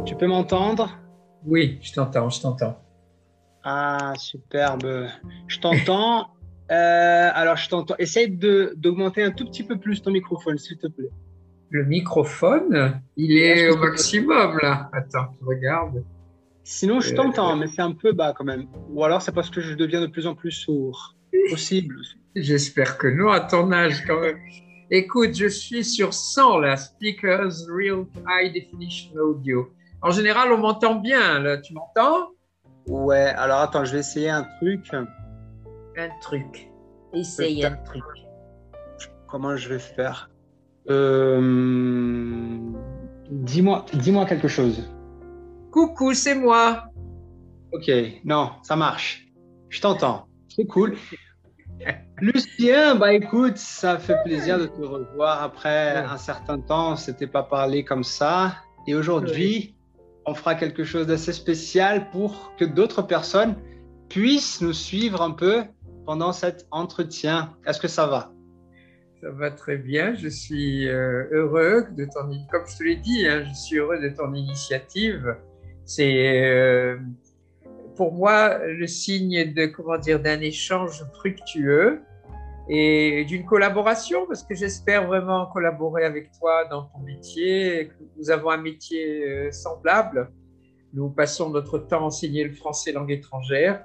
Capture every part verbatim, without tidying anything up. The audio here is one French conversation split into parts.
Tu peux m'entendre? Oui, je t'entends, je t'entends. Ah, superbe. Je t'entends. Euh, alors, je t'entends. Essaye de, d'augmenter un tout petit peu plus ton microphone, s'il te plaît. Le microphone, il Est-ce est que au c'est possible? maximum là. Attends, je regarde. Sinon, je Euh, t'entends, mais c'est un peu bas quand même. Ou alors, c'est parce que je deviens de plus en plus sourd. Possible. J'espère que non, à ton âge quand même. Écoute, je suis sur cent là, Speakers Real High Definition Audio. En général, on m'entend bien là. Tu m'entends? Ouais, alors attends, je vais essayer un truc. Un truc. Essaye un Peut-être. truc. Comment je vais faire? Euh, Dis-moi, dis-moi quelque chose. Coucou, c'est moi. Ok, non, ça marche. Je t'entends. C'est cool. Lucien, bah écoute, ça fait plaisir de te revoir après Ouais, un certain temps. On s'était pas parlé comme ça. Et ouais. aujourd'hui, on fera quelque chose d'assez spécial pour que d'autres personnes puissent nous suivre un peu pendant cet entretien. Est-ce que ça va? Ça va très bien. Je suis euh, heureux de ton, comme je te l'ai dit, hein, je suis heureux de ton initiative. C'est euh, pour moi le signe de comment dire d'un échange fructueux et d'une collaboration, parce que j'espère vraiment collaborer avec toi dans ton métier. Nous avons un métier euh, semblable. Nous passons notre temps à enseigner le français langue étrangère.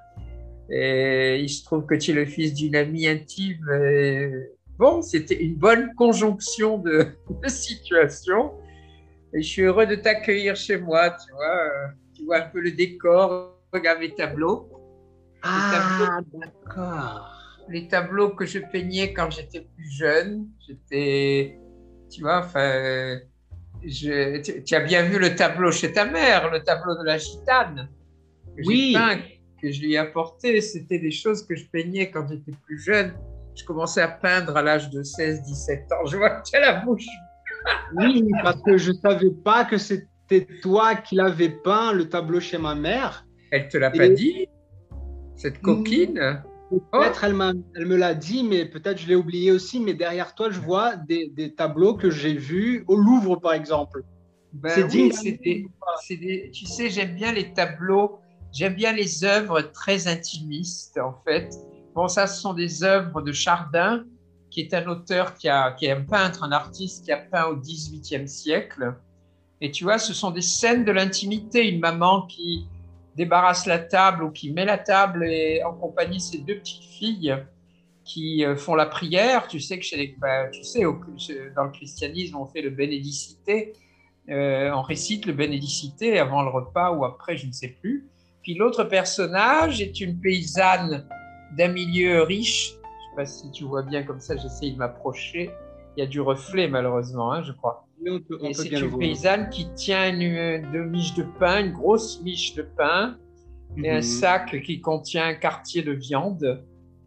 Et il se trouve que tu es le fils d'une amie intime. Et bon, c'était une bonne conjonction de, de situations. Et je suis heureux de t'accueillir chez moi. Tu vois, euh, tu vois un peu le décor. Regarde mes tableaux. Les tableaux, Ah, d'accord. les tableaux que je peignais quand j'étais plus jeune. J'étais, tu vois, enfin, je, tu, tu as bien vu le tableau chez ta mère, le tableau de la gitane que j'ai Oui, peint, que je lui ai apporté, c'était des choses que je peignais quand j'étais plus jeune. Je commençais à peindre à l'âge de seize dix-sept ans. Je vois que tu as la bouche. oui, parce que je savais pas que c'était toi qui l'avais peint le tableau chez ma mère. Elle te l'a pas Et dit, cette hmm, coquine? Oh, peut-être elle m'a, elle me l'a dit, mais peut-être je l'ai oublié aussi. Mais derrière toi, je vois des, des tableaux que j'ai vus au Louvre, par exemple. C'est ben digne oui, d'un c'est livre ou des, pas? c'est des, tu sais, j'aime bien les tableaux, j'aime bien les œuvres très intimistes, en fait. Bon, ça, ce sont des œuvres de Chardin, qui est un auteur qui a, qui est un peintre, un artiste qui a peint au dix-huitième siècle. Et tu vois, ce sont des scènes de l'intimité. Une maman qui débarrasse la table ou qui met la table et en compagnie de ses deux petites filles qui euh, font la prière. Tu sais que chez les, bah, tu sais, au, dans le christianisme, on fait le bénédicité. Euh, on récite le bénédicité avant le repas ou après, je ne sais plus. Puis l'autre personnage est une paysanne d'un milieu riche. Je ne sais pas si tu vois bien comme ça, j'essaye de m'approcher. Il y a du reflet malheureusement, hein, je crois. Oui, on peut, on Et peut c'est bien le une voir. paysanne qui tient une, deux miches de pain, une grosse miche de pain et un Mhm. sac qui contient un quartier de viande.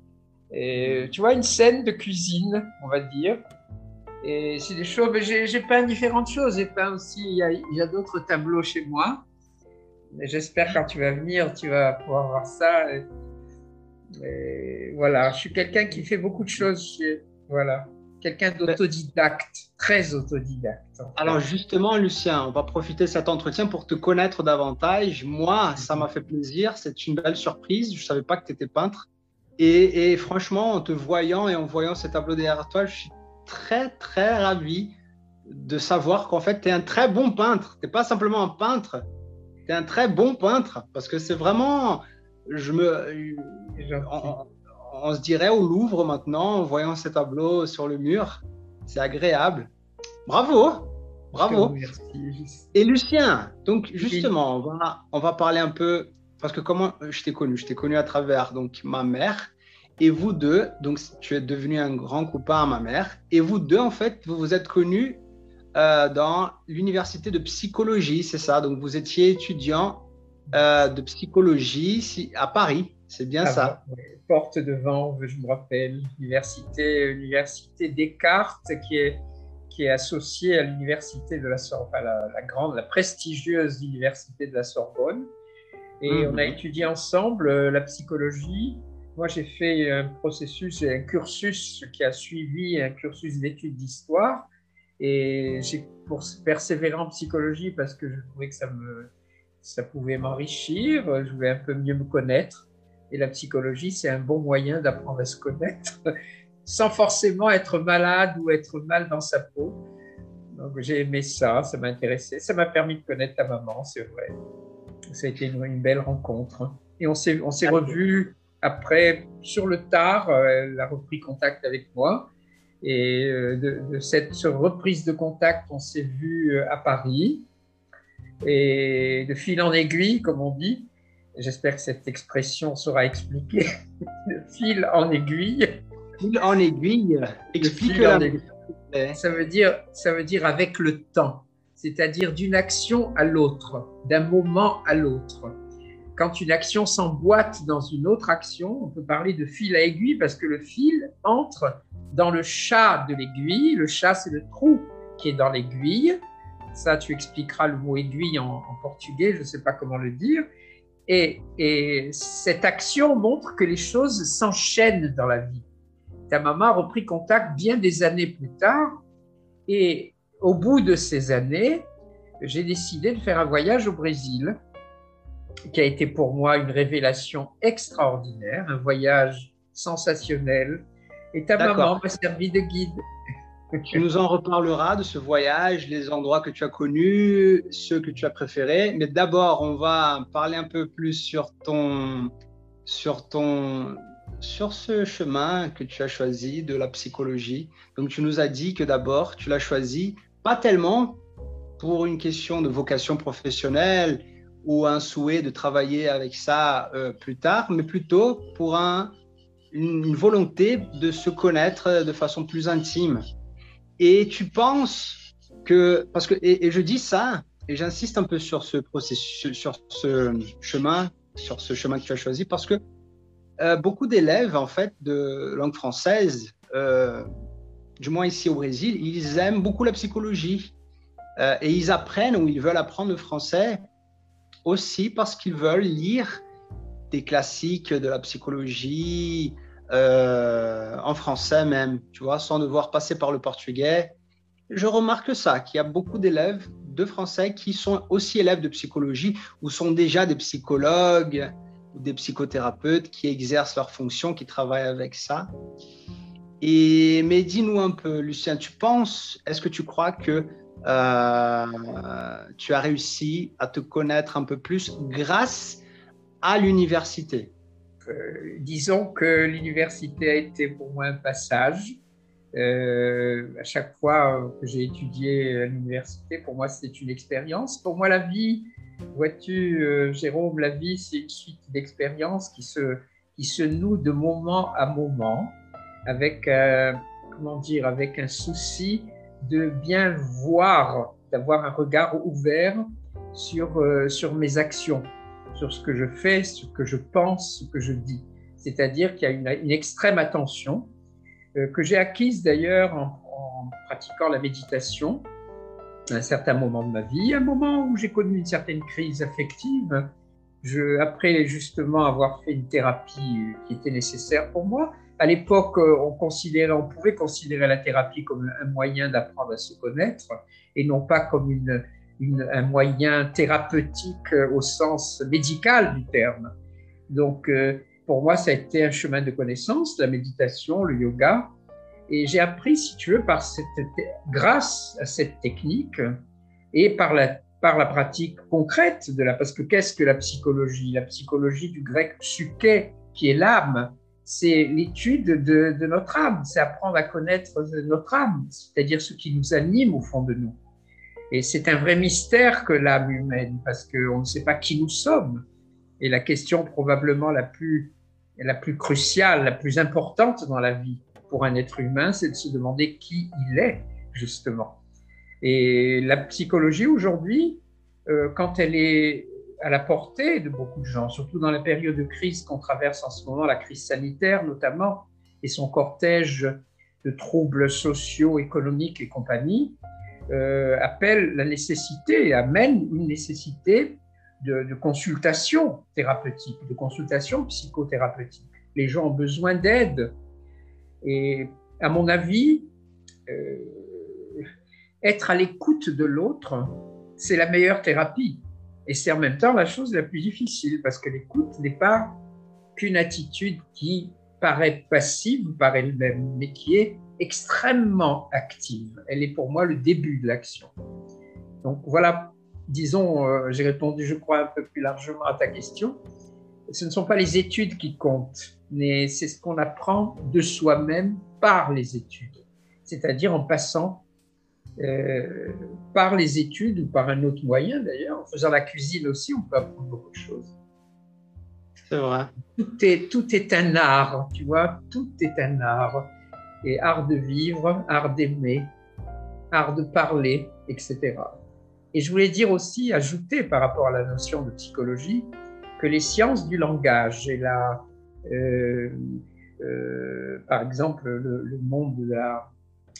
Et Mhm. tu vois, une scène de cuisine, on va dire. Et c'est des choses, mais j'ai, j'ai peint différentes choses. J'ai peint aussi, il y a, il y a d'autres tableaux chez moi. Mais j'espère quand tu vas venir, tu vas pouvoir voir ça. Et, et voilà, je suis quelqu'un qui fait beaucoup de choses. Chez, voilà, quelqu'un Ben, d'autodidacte, très autodidacte en alors fait. justement, Lucien, on va profiter de cet entretien pour te connaître davantage. Moi, ça m'a fait plaisir. C'est une belle surprise. Je ne savais pas que tu étais peintre. Et, et franchement, en te voyant et en voyant ces tableaux derrière toi, je suis très, très ravi de savoir qu'en fait, tu es un très bon peintre. Tu n'es pas simplement un peintre, tu es un très bon peintre. Parce que c'est vraiment, je me, C'est gentil. on, on se dirait au Louvre maintenant, en voyant ces tableaux sur le mur, c'est agréable. Bravo, Je te bravo. remercie. Et Lucien, donc Oui. justement, on va, on va parler un peu, parce que comment je t'ai connu? Je t'ai connu à travers donc ma mère et vous deux, donc tu es devenu un grand copain à ma mère, et vous deux, en fait, vous vous êtes connus euh, dans l'université de psychologie, c'est ça? Donc vous étiez étudiant euh, de psychologie si- à Paris, c'est bien Avant, ça? ouais. Porte de Vanves, je me rappelle, université, université Descartes, qui est, qui est associée à l'université de la Sorbonne, la, la grande, la prestigieuse université de la Sorbonne. Et on a Mhm. étudié ensemble euh, la psychologie. Moi, j'ai fait un processus, un cursus qui a suivi un cursus d'études d'histoire. Et j'ai persévéré en psychologie parce que je trouvais que ça, me, ça pouvait m'enrichir, je voulais un peu mieux me connaître. Et la psychologie, c'est un bon moyen d'apprendre à se connaître sans forcément être malade ou être mal dans sa peau. Donc j'ai aimé ça, ça m'a intéressé. Ça m'a permis de connaître ta maman, c'est vrai. Ça a été une, une belle rencontre. Et on s'est, on s'est revus après, sur le tard, elle a repris contact avec moi. Et de, de cette reprise de contact, on s'est vus à Paris. Et de fil en aiguille, comme on dit, j'espère que cette expression sera expliquée, de fil en aiguille. Fil en aiguille, explique-la. Ça veut dire, ça veut dire avec le temps, c'est-à-dire d'une action à l'autre, d'un moment à l'autre. Quand une action s'emboîte dans une autre action, on peut parler de fil à aiguille parce que le fil entre dans le chat de l'aiguille. Le chat, c'est le trou qui est dans l'aiguille. Ça, tu expliqueras le mot aiguille en, en portugais, je ne sais pas comment le dire. Et, et cette action montre que les choses s'enchaînent dans la vie. Ta maman a repris contact bien des années plus tard. Et au bout de ces années, j'ai décidé de faire un voyage au Brésil, qui a été pour moi une révélation extraordinaire, un voyage sensationnel. Et ta maman m'a servi de guide. Tu nous en reparleras de ce voyage, les endroits que tu as connus, ceux que tu as préférés. Mais d'abord, on va parler un peu plus sur ton, sur ton, sur ce chemin que tu as choisi de la psychologie. Donc, tu nous as dit que d'abord, tu l'as choisi pas tellement pour une question de vocation professionnelle ou un souhait de travailler avec ça euh, plus tard, mais plutôt pour un, une, une volonté de se connaître de façon plus intime. Et tu penses que, parce que, et, et je dis ça, et j'insiste un peu sur ce processus, sur ce chemin, sur ce chemin que tu as choisi, parce que euh, beaucoup d'élèves, en fait, de langue française, euh, du moins ici au Brésil, ils aiment beaucoup la psychologie euh, et ils apprennent ou ils veulent apprendre le français aussi parce qu'ils veulent lire des classiques de la psychologie euh, en français même, tu vois, sans devoir passer par le portugais. Je remarque ça, qu'il y a beaucoup d'élèves de français qui sont aussi élèves de psychologie ou sont déjà des psychologues ou des psychothérapeutes qui exercent leurs fonctions, qui travaillent avec ça. Et, mais dis-nous un peu, Lucien, tu penses, est-ce que tu crois que euh, tu as réussi à te connaître un peu plus grâce à l'université? euh, Disons que l'université a été pour moi un passage. Euh, à chaque fois que j'ai étudié à l'université, pour moi, c'était une expérience. Pour moi, la vie, vois-tu, euh, Jérôme, la vie, c'est une suite d'expériences qui se, qui se nouent de moment à moment, avec, euh, comment dire, avec un souci de bien voir, d'avoir un regard ouvert sur, euh, sur mes actions, sur ce que je fais, ce que je pense, ce que je dis. C'est-à-dire qu'il y a une, une extrême attention euh, que j'ai acquise d'ailleurs en, en pratiquant la méditation à un certain moment de ma vie, un moment où j'ai connu une certaine crise affective. Je, après justement avoir fait une thérapie qui était nécessaire pour moi, à l'époque, on, considérait, on pouvait considérer la thérapie comme un moyen d'apprendre à se connaître et non pas comme une, une, un moyen thérapeutique au sens médical du terme. Donc, pour moi, ça a été un chemin de connaissance, la méditation, le yoga. Et j'ai appris, si tu veux, par cette, grâce à cette technique et par la, par la pratique concrète de la... Parce que qu'est-ce que la psychologie? La psychologie du grec psyché, qui est l'âme, c'est l'étude de, de notre âme, c'est apprendre à connaître notre âme, c'est-à-dire ce qui nous anime au fond de nous. Et c'est un vrai mystère que l'âme humaine, parce qu'on ne sait pas qui nous sommes. Et la question probablement la plus, la plus cruciale, la plus importante dans la vie pour un être humain, c'est de se demander qui il est, justement. Et la psychologie aujourd'hui, euh, quand elle est à la portée de beaucoup de gens, surtout dans la période de crise qu'on traverse en ce moment, la crise sanitaire notamment, et son cortège de troubles sociaux, économiques et compagnie, euh, appelle la nécessité, amène une nécessité de, de consultation thérapeutique, de consultation psychothérapeutique. Les gens ont besoin d'aide. Et à mon avis, euh, être à l'écoute de l'autre, c'est la meilleure thérapie. Et c'est en même temps la chose la plus difficile, parce que l'écoute n'est pas qu'une attitude qui paraît passive par elle-même, mais qui est extrêmement active. Elle est pour moi le début de l'action. Donc voilà, disons, euh, j'ai répondu, je crois, un peu plus largement à ta question. Ce ne sont pas les études qui comptent, mais c'est ce qu'on apprend de soi-même par les études, c'est-à-dire en passant euh, par les études ou par un autre moyen d'ailleurs. En faisant la cuisine aussi, on peut apprendre beaucoup de choses. C'est vrai. Tout est, tout est un art, tu vois, tout est un art. Et art de vivre, art d'aimer, art de parler, et cetera. Et je voulais dire aussi, ajouter par rapport à la notion de psychologie, que les sciences du langage et la, euh, euh, par exemple, le, le monde de la,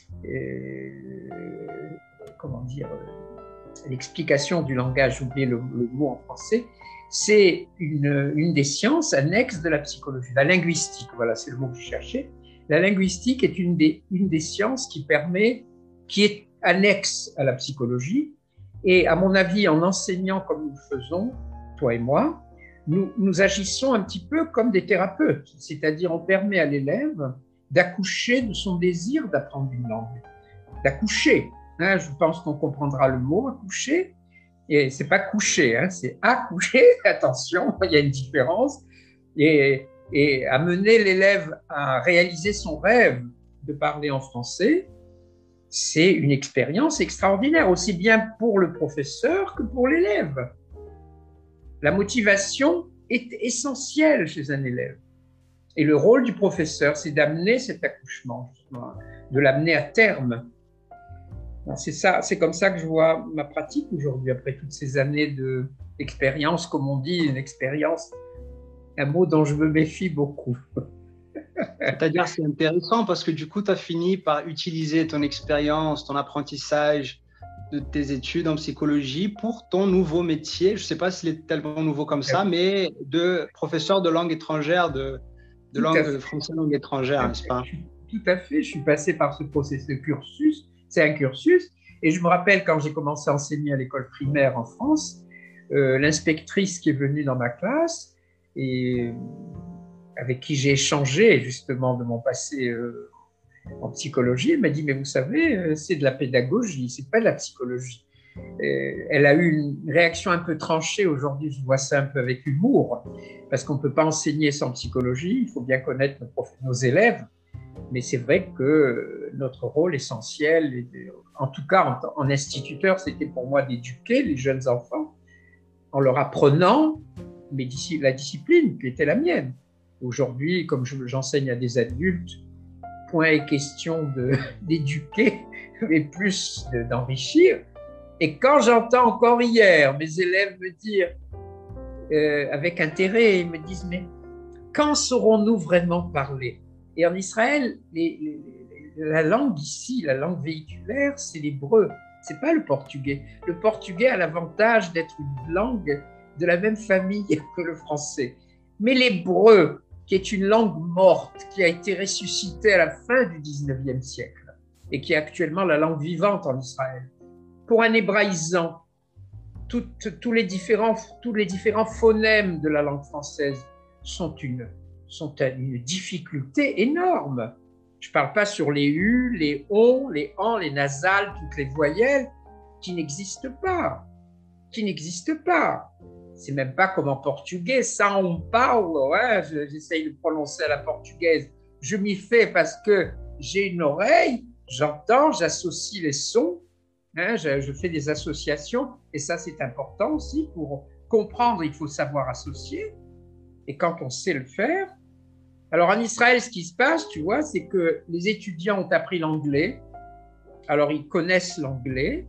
euh, comment dire, l'explication du langage, j'ai oublié le, le mot en français, c'est une, une des sciences annexes de la psychologie, la linguistique, voilà, c'est le mot que je cherchais. La linguistique est une des, une des sciences qui permet, qui est annexe à la psychologie, et à mon avis, en enseignant comme nous le faisons, toi et moi, nous, nous agissons un petit peu comme des thérapeutes, c'est-à-dire on permet à l'élève d'accoucher de son désir d'apprendre une langue, d'accoucher. Hein, je pense qu'on comprendra le mot accoucher, et c'est pas coucher, hein, c'est accoucher. Attention, il y a une différence. Et, et amener l'élève à réaliser son rêve de parler en français, c'est une expérience extraordinaire, aussi bien pour le professeur que pour l'élève. La motivation est essentielle chez un élève. Et le rôle du professeur, c'est d'amener cet accouchement, justement, de l'amener à terme. C'est ça, c'est comme ça que je vois ma pratique aujourd'hui, après toutes ces années d'expérience, comme on dit, une expérience, un mot dont je me méfie beaucoup. C'est-à-dire, c'est intéressant parce que du coup, tu as fini par utiliser ton expérience, ton apprentissage de tes études en psychologie pour ton nouveau métier. Je ne sais pas s'il est tellement nouveau comme ça, mais de professeur de langue étrangère, de, de langue française langue étrangère, n'est-ce pas? Tout à fait, je suis passé par ce processus de cursus. C'est un cursus. Et je me rappelle quand j'ai commencé à enseigner à l'école primaire en France, euh, l'inspectrice qui est venue dans ma classe et avec qui j'ai échangé justement de mon passé euh, en psychologie, elle m'a dit, mais vous savez, c'est de la pédagogie, c'est pas de la psychologie. Et elle a eu une réaction un peu tranchée aujourd'hui, je vois ça un peu avec humour, parce qu'on ne peut pas enseigner sans psychologie, il faut bien connaître nos, prof, nos élèves, mais c'est vrai que notre rôle essentiel, en tout cas en, en instituteur, c'était pour moi d'éduquer les jeunes enfants en leur apprenant mais la discipline qui était la mienne. Aujourd'hui, comme j'enseigne à des adultes, point est question d'éduquer, mais plus d'enrichir. Et quand j'entends encore hier mes élèves me dire, euh, avec intérêt, ils me disent, mais quand saurons-nous vraiment parler? Et en Israël, les, les, la langue ici, la langue véhiculaire, c'est l'hébreu, c'est pas le portugais. Le portugais a l'avantage d'être une langue de la même famille que le français. Mais l'hébreu, qui est une langue morte, qui a été ressuscitée à la fin du dix-neuvième siècle et qui est actuellement la langue vivante en Israël. Pour un hébraïsant, toutes, tous, les différents, tous les différents phonèmes de la langue française sont une, sont une difficulté énorme. Je ne parle pas sur les U, les ON, les AN, les nasales, toutes les voyelles qui n'existent pas, qui n'existent pas. C'est même pas comme en portugais, ça on parle, ouais, j'essaye de prononcer à la portugaise. Je m'y fais parce que j'ai une oreille, j'entends, j'associe les sons, hein, je, je fais des associations, et ça c'est important aussi pour comprendre, il faut savoir associer, et quand on sait le faire. Alors en Israël, ce qui se passe, tu vois, c'est que les étudiants ont appris l'anglais, alors ils connaissent l'anglais,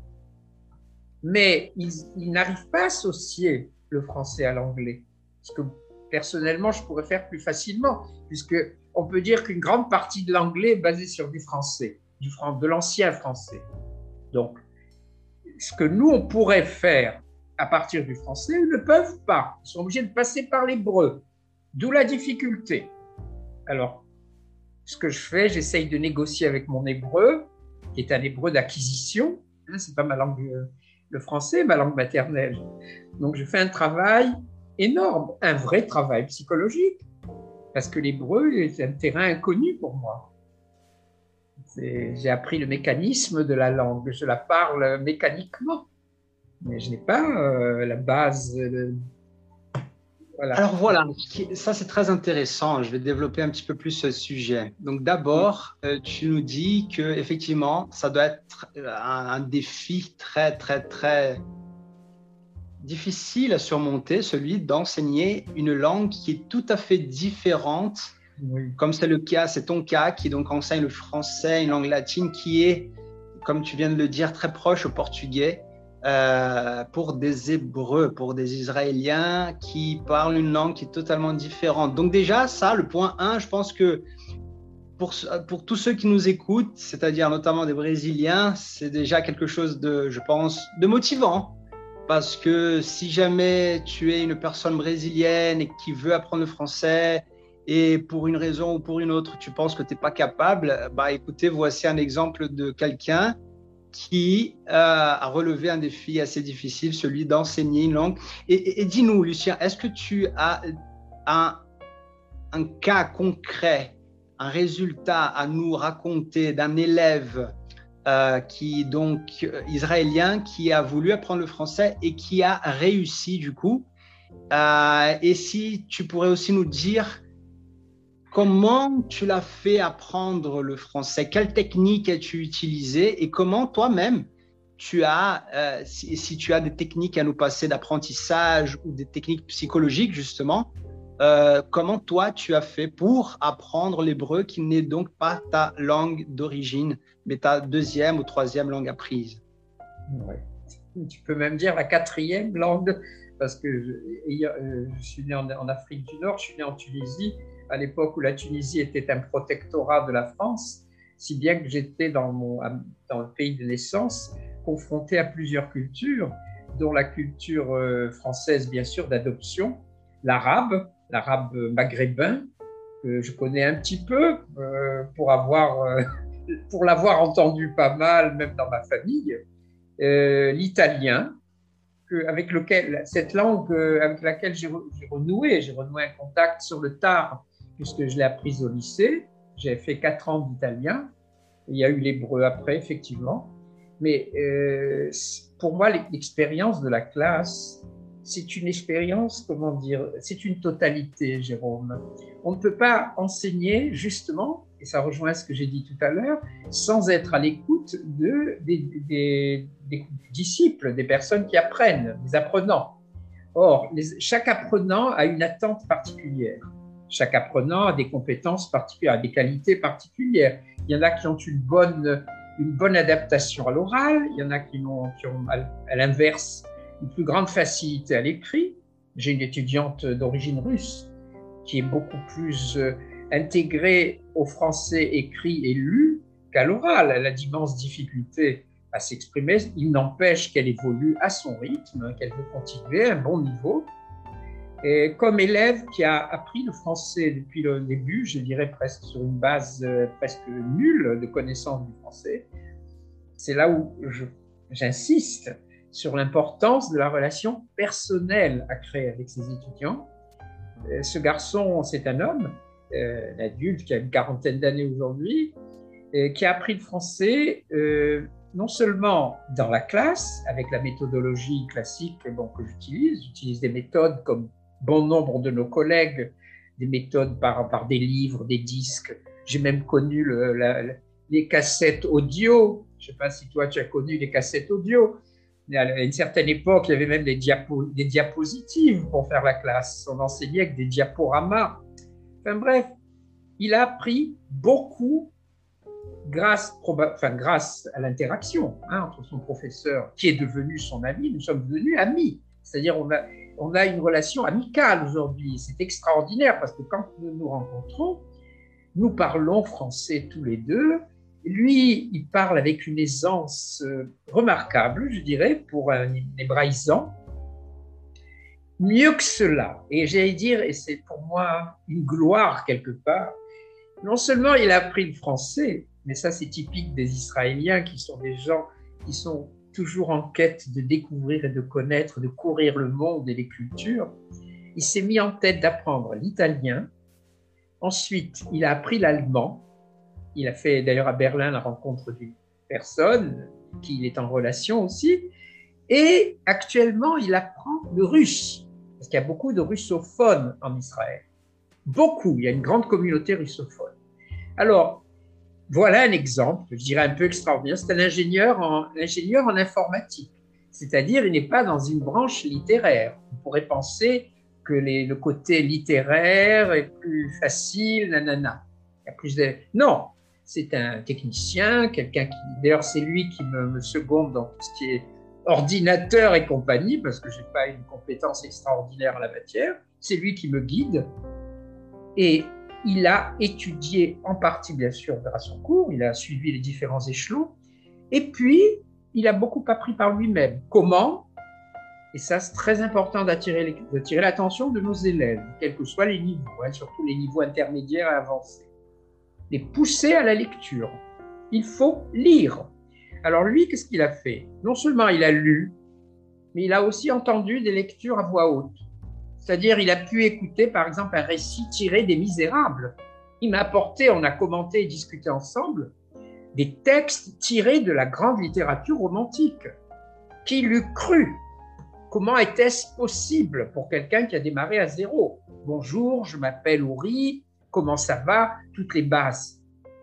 mais ils, ils n'arrivent pas à associer le français à l'anglais. Ce que personnellement, je pourrais faire plus facilement, puisqu'on peut dire qu'une grande partie de l'anglais est basée sur du français, du, de l'ancien français. Donc, ce que nous, on pourrait faire à partir du français, ils ne peuvent pas. Ils sont obligés de passer par l'hébreu, d'où la difficulté. Alors, ce que je fais, j'essaye de négocier avec mon hébreu, qui est un hébreu d'acquisition, Hein, c'est pas ma langue, euh, le français, ma langue maternelle. Donc, je fais un travail énorme, un vrai travail psychologique, parce que l'hébreu est un terrain inconnu pour moi. C'est, j'ai appris le mécanisme de la langue, je la parle mécaniquement, mais je n'ai pas euh, la base. De... Voilà. Alors voilà, ça c'est très intéressant. Je vais développer un petit peu plus ce sujet. Donc d'abord, euh, tu nous dis que effectivement, ça doit être un, un défi très très très difficile à surmonter, celui d'enseigner une langue qui est tout à fait différente, oui. Comme c'est le cas, c'est ton cas, qui donc enseigne le français, une langue latine qui est, comme tu viens de le dire, très proche au portugais, euh, pour des Hébreux, pour des Israéliens qui parlent une langue qui est totalement différente. Donc déjà, ça, le point un, je pense que pour, pour tous ceux qui nous écoutent, c'est-à-dire notamment des Brésiliens, c'est déjà quelque chose de, je pense, de motivant. Parce que si jamais tu es une personne brésilienne et qui veut apprendre le français et pour une raison ou pour une autre, tu penses que tu n'es pas capable, bah écoutez, voici un exemple de quelqu'un qui euh, a relevé un défi assez difficile, celui d'enseigner une langue. Et, et, et dis-nous, Lucien, est-ce que tu as un, un cas concret, un résultat à nous raconter d'un élève Euh, qui donc euh, israélien qui a voulu apprendre le français et qui a réussi du coup. Euh, et si tu pourrais aussi nous dire comment tu l'as fait apprendre le français, quelle technique as-tu utilisée et comment toi-même tu as, euh, si, si tu as des techniques à nous passer d'apprentissage ou des techniques psychologiques justement, euh, comment toi tu as fait pour apprendre l'hébreu qui n'est donc pas ta langue d'origine, mais ta deuxième ou troisième langue apprise. Ouais. Tu peux même dire la quatrième langue, parce que je, je suis né en, en Afrique du Nord, je suis né en Tunisie, à l'époque où la Tunisie était un protectorat de la France, si bien que j'étais dans, mon, dans le pays de naissance, confronté à plusieurs cultures, dont la culture française, bien sûr, d'adoption, l'arabe, l'arabe maghrébin, que je connais un petit peu euh, pour avoir... Euh, pour l'avoir entendu pas mal, même dans ma famille, euh, l'italien, que, avec lequel, cette langue euh, avec laquelle j'ai, re, j'ai renoué, j'ai renoué un contact sur le tard, puisque je l'ai apprise au lycée. J'ai fait quatre ans d'italien. Il y a eu l'hébreu après, effectivement. Mais euh, pour moi, l'expérience de la classe, c'est une expérience, comment dire, c'est une totalité, Jérôme. On ne peut pas enseigner, justement, et ça rejoint ce que j'ai dit tout à l'heure, sans être à l'écoute de, des, des, des disciples, des personnes qui apprennent, des apprenants. Or, les, chaque apprenant a une attente particulière. Chaque apprenant a des compétences particulières, des qualités particulières. Il y en a qui ont une bonne, une bonne adaptation à l'oral, il y en a qui ont, qui ont à l'inverse, une plus grande facilité à l'écrit. J'ai une étudiante d'origine russe qui est beaucoup plus euh, intégrée au français écrit et lu qu'à l'oral. Elle a d'immenses difficultés à s'exprimer. Il n'empêche qu'elle évolue à son rythme, qu'elle veut continuer à un bon niveau. Et comme élève qui a appris le français depuis le début, je dirais presque sur une base euh, presque nulle de connaissance du français, c'est là où je, j'insiste sur l'importance de la relation personnelle à créer avec ses étudiants. Ce garçon, c'est un homme, euh, un adulte qui a une quarantaine d'années aujourd'hui, euh, qui a appris le français euh, non seulement dans la classe, avec la méthodologie classique bon, que j'utilise, j'utilise des méthodes comme bon nombre de nos collègues, des méthodes par, par des livres, des disques. J'ai même connu le, la, les cassettes audio. Je ne sais pas si toi, tu as connu les cassettes audio. À une certaine époque, il y avait même des, diapo, des diapositives pour faire la classe. On enseignait avec des diaporamas. Enfin bref, il a appris beaucoup grâce, enfin, grâce à l'interaction hein, entre son professeur, qui est devenu son ami. Nous sommes devenus amis. C'est-à-dire on a, on a une relation amicale aujourd'hui. C'est extraordinaire parce que quand nous nous rencontrons, nous parlons français tous les deux. Lui, il parle avec une aisance remarquable, je dirais, pour un hébraïsant. Mieux que cela, et j'allais dire, et c'est pour moi une gloire quelque part, non seulement il a appris le français, mais ça c'est typique des Israéliens qui sont des gens qui sont toujours en quête de découvrir et de connaître, de courir le monde et les cultures, il s'est mis en tête d'apprendre l'italien. Ensuite, il a appris l'allemand. Il a fait d'ailleurs à Berlin la rencontre d'une personne qui il est en relation aussi. Et actuellement, il apprend le russe, parce qu'il y a beaucoup de russophones en Israël. Beaucoup, il y a une grande communauté russophone. Alors, voilà un exemple, je dirais un peu extraordinaire. C'est un ingénieur en, ingénieur en informatique, c'est-à-dire il n'est pas dans une branche littéraire. On pourrait penser que les, le côté littéraire est plus facile, nanana. Il y a plus de... Non, c'est un technicien, quelqu'un qui... D'ailleurs, c'est lui qui me, me seconde dans tout ce qui est ordinateur et compagnie, parce que je n'ai pas une compétence extraordinaire en la matière. C'est lui qui me guide. Et il a étudié en partie, bien sûr, vers son cours, il a suivi les différents échelons, et puis il a beaucoup appris par lui-même. Comment? Et ça, c'est très important d'attirer, d'attirer l'attention de nos élèves, quels que soient les niveaux, hein, surtout les niveaux intermédiaires et avancés. Les pousser à la lecture. Il faut lire. Alors lui, qu'est-ce qu'il a fait? Non seulement il a lu, mais il a aussi entendu des lectures à voix haute. C'est-à-dire, il a pu écouter, par exemple, un récit tiré des Misérables. Il m'a apporté, on a commenté et discuté ensemble, des textes tirés de la grande littérature romantique. Qui l'eût cru? Comment était-ce possible pour quelqu'un qui a démarré à zéro? Bonjour, je m'appelle Ouri, comment ça va? Toutes les bases.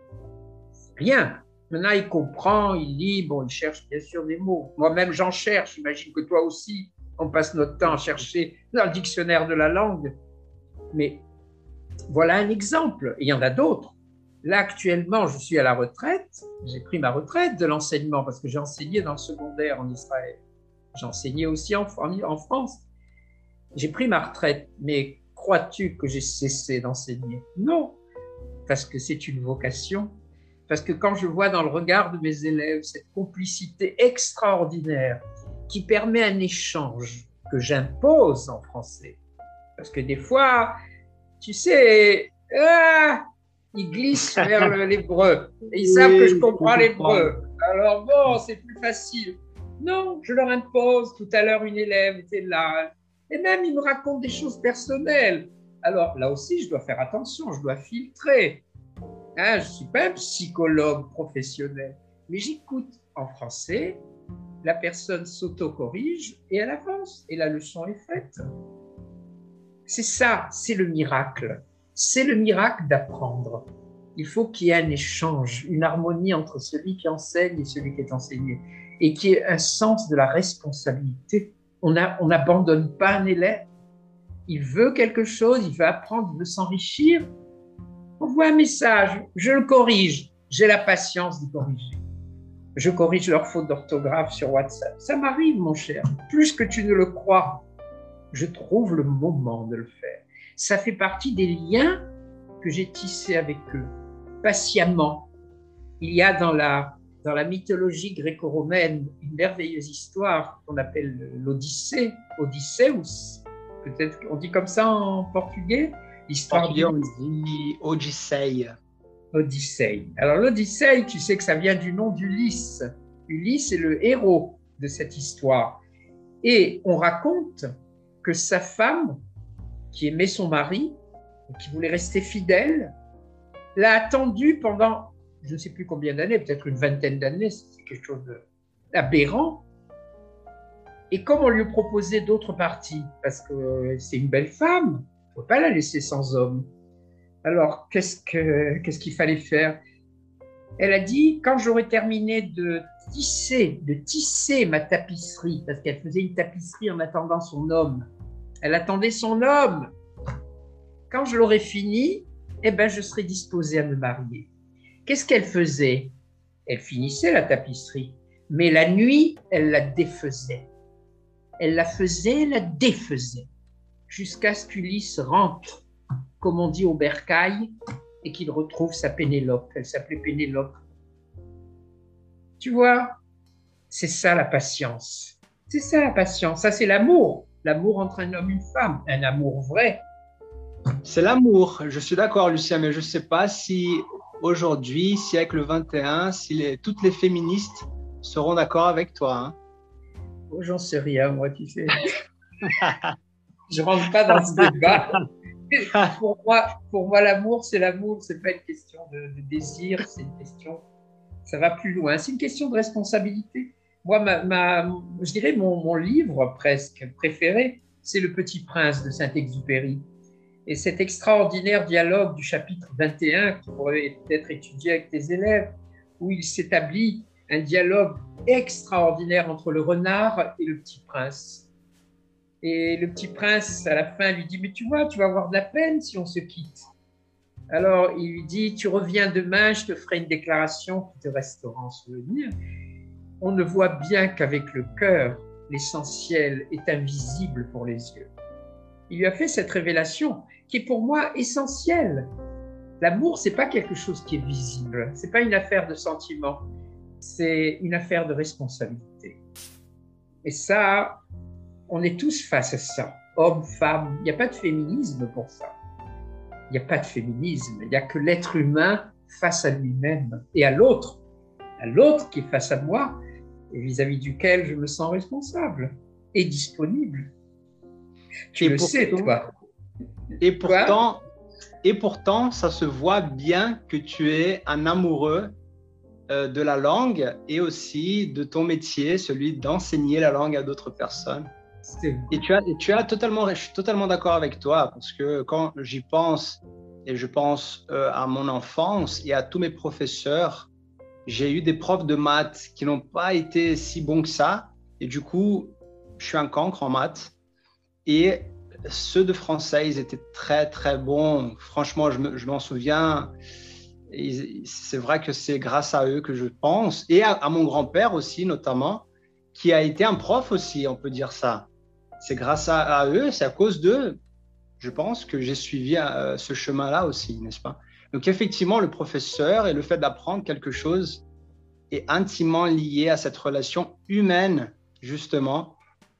Rien. Maintenant, il comprend, il lit, bon, il cherche bien sûr des mots. Moi-même, j'en cherche, j'imagine que toi aussi. On passe notre temps à chercher dans le dictionnaire de la langue. Mais voilà un exemple. Et il y en a d'autres. Là, actuellement, je suis à la retraite. J'ai pris ma retraite de l'enseignement parce que j'ai enseigné dans le secondaire en Israël. J'ai enseigné aussi en, en France. J'ai pris ma retraite. Mais crois-tu que j'ai cessé d'enseigner? Non. Parce que c'est une vocation. Parce que quand je vois dans le regard de mes élèves cette complicité extraordinaire qui permet un échange que j'impose en français. Parce que des fois, tu sais, ah, ils glissent vers l'hébreu. Et ils oui, savent que je comprends l'hébreu. Alors bon, c'est plus facile. Non, je leur impose. Tout à l'heure, une élève était là. Et même, ils me racontent des choses personnelles. Alors là aussi, je dois faire attention, je dois filtrer. Hein, je ne suis pas un psychologue professionnel, mais j'écoute en français. La personne s'auto-corrige et elle avance, et la leçon est faite. C'est ça, c'est le miracle. C'est le miracle d'apprendre. Il faut qu'il y ait un échange, une harmonie entre celui qui enseigne et celui qui est enseigné, et qu'il y ait un sens de la responsabilité. On n'abandonne pas un élève. Il veut quelque chose, il veut apprendre, il veut s'enrichir. On voit un message, je le corrige, j'ai la patience de corriger. Je corrige leurs fautes d'orthographe sur WhatsApp. Ça m'arrive, mon cher, plus que tu ne le crois. Je trouve le moment de le faire. Ça fait partie des liens que j'ai tissés avec eux, patiemment. Il y a dans la, dans la mythologie gréco-romaine une merveilleuse histoire qu'on appelle l'Odyssée, Odysseus, peut-être qu'on dit comme ça en portugais. L'histoire du... on dit Odyssée. Odyssée. Alors l'Odyssée, tu sais que ça vient du nom d'Ulysse. Ulysse est le héros de cette histoire. Et on raconte que sa femme, qui aimait son mari, qui voulait rester fidèle, l'a attendu pendant, je ne sais plus combien d'années, peut-être une vingtaine d'années, c'est quelque chose d'aberrant. Et comme on lui proposait d'autres parties, parce que c'est une belle femme, il ne faut pas la laisser sans homme. Alors, qu'est-ce que, qu'est-ce qu'il fallait faire? Elle a dit, quand j'aurai terminé de tisser, de tisser ma tapisserie, parce qu'elle faisait une tapisserie en attendant son homme. Elle attendait son homme. Quand je l'aurai fini, eh ben, je serai disposée à me marier. Qu'est-ce qu'elle faisait? Elle finissait la tapisserie, mais la nuit, elle la défaisait. Elle la faisait, la défaisait, jusqu'à ce qu'Ulysse rentre, comme on dit au bercail, et qu'il retrouve sa Pénélope. Elle s'appelait Pénélope. Tu vois, c'est ça la patience. C'est ça la patience. Ça, c'est l'amour. L'amour entre un homme et une femme. Un amour vrai. C'est l'amour. Je suis d'accord, Lucien, mais je ne sais pas si aujourd'hui, siècle vingt et un, si les, toutes les féministes seront d'accord avec toi. Hein. Oh, j'en sais rien, moi, tu sais. Je ne rentre pas dans ce débat. Pour moi, pour moi l'amour, c'est l'amour. Ce n'est pas une question de, de désir, c'est une question... Ça va plus loin. C'est une question de responsabilité. Moi, ma, ma, je dirais mon, mon livre presque préféré, c'est Le Petit Prince de Saint-Exupéry. Et cet extraordinaire dialogue du chapitre vingt et un, qui pourrait peut-être étudier avec tes élèves, où il s'établit un dialogue extraordinaire entre le renard et le petit prince. Et le petit prince, à la fin, lui dit « Mais tu vois, tu vas avoir de la peine si on se quitte. » Alors, il lui dit « Tu reviens demain, je te ferai une déclaration qui te restera en souvenir. » On ne voit bien qu'avec le cœur, l'essentiel est invisible pour les yeux. Il lui a fait cette révélation qui est pour moi essentielle. L'amour, ce n'est pas quelque chose qui est visible, ce n'est pas une affaire de sentiment, c'est une affaire de responsabilité. Et ça, on est tous face à ça, hommes, femmes, il n'y a pas de féminisme pour ça. Il n'y a pas de féminisme, il n'y a que l'être humain face à lui-même et à l'autre, à l'autre qui est face à moi et vis-à-vis duquel je me sens responsable et disponible. Tu et le pourtant, sais, toi. Et pourtant, et pourtant, ça se voit bien que tu es un amoureux euh, de la langue et aussi de ton métier, celui d'enseigner la langue à d'autres personnes. Et tu as, et tu as totalement, je suis totalement d'accord avec toi parce que quand j'y pense et je pense euh, à mon enfance et à tous mes professeurs, j'ai eu des profs de maths qui n'ont pas été si bons que ça et du coup, je suis un cancre en maths et ceux de français, ils étaient très très bons. Franchement, je, me, je m'en souviens. Et c'est vrai que c'est grâce à eux que je pense et à, à mon grand-père aussi notamment, qui a été un prof aussi, on peut dire ça. C'est grâce à, à eux, c'est à cause d'eux, je pense, que j'ai suivi euh, ce chemin-là aussi, n'est-ce pas? Donc effectivement, le professeur et le fait d'apprendre quelque chose est intimement lié à cette relation humaine, justement,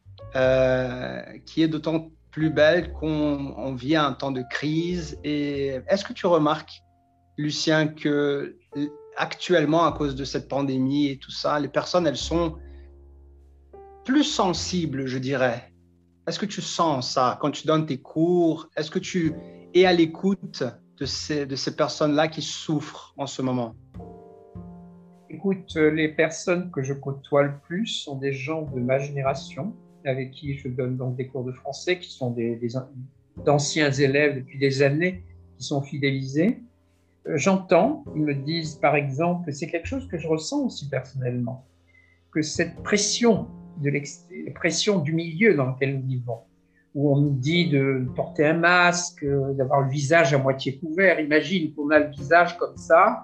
euh, qui est d'autant plus belle qu'on on vit un temps de crise. Et est-ce que tu remarques, Lucien, que actuellement, à cause de cette pandémie et tout ça, les personnes, elles sont plus sensibles, je dirais. Est-ce que tu sens ça quand tu donnes tes cours? Est-ce que tu es à l'écoute de ces, de ces personnes-là qui souffrent en ce moment? Écoute, les personnes que je côtoie le plus sont des gens de ma génération, avec qui je donne donc des cours de français, qui sont des, des, d'anciens élèves depuis des années, qui sont fidélisés. J'entends, ils me disent par exemple, c'est quelque chose que je ressens aussi personnellement, que cette pression de l'expression du milieu dans lequel nous vivons, où on nous dit de porter un masque, d'avoir le visage à moitié couvert. Imagine qu'on a le visage comme ça,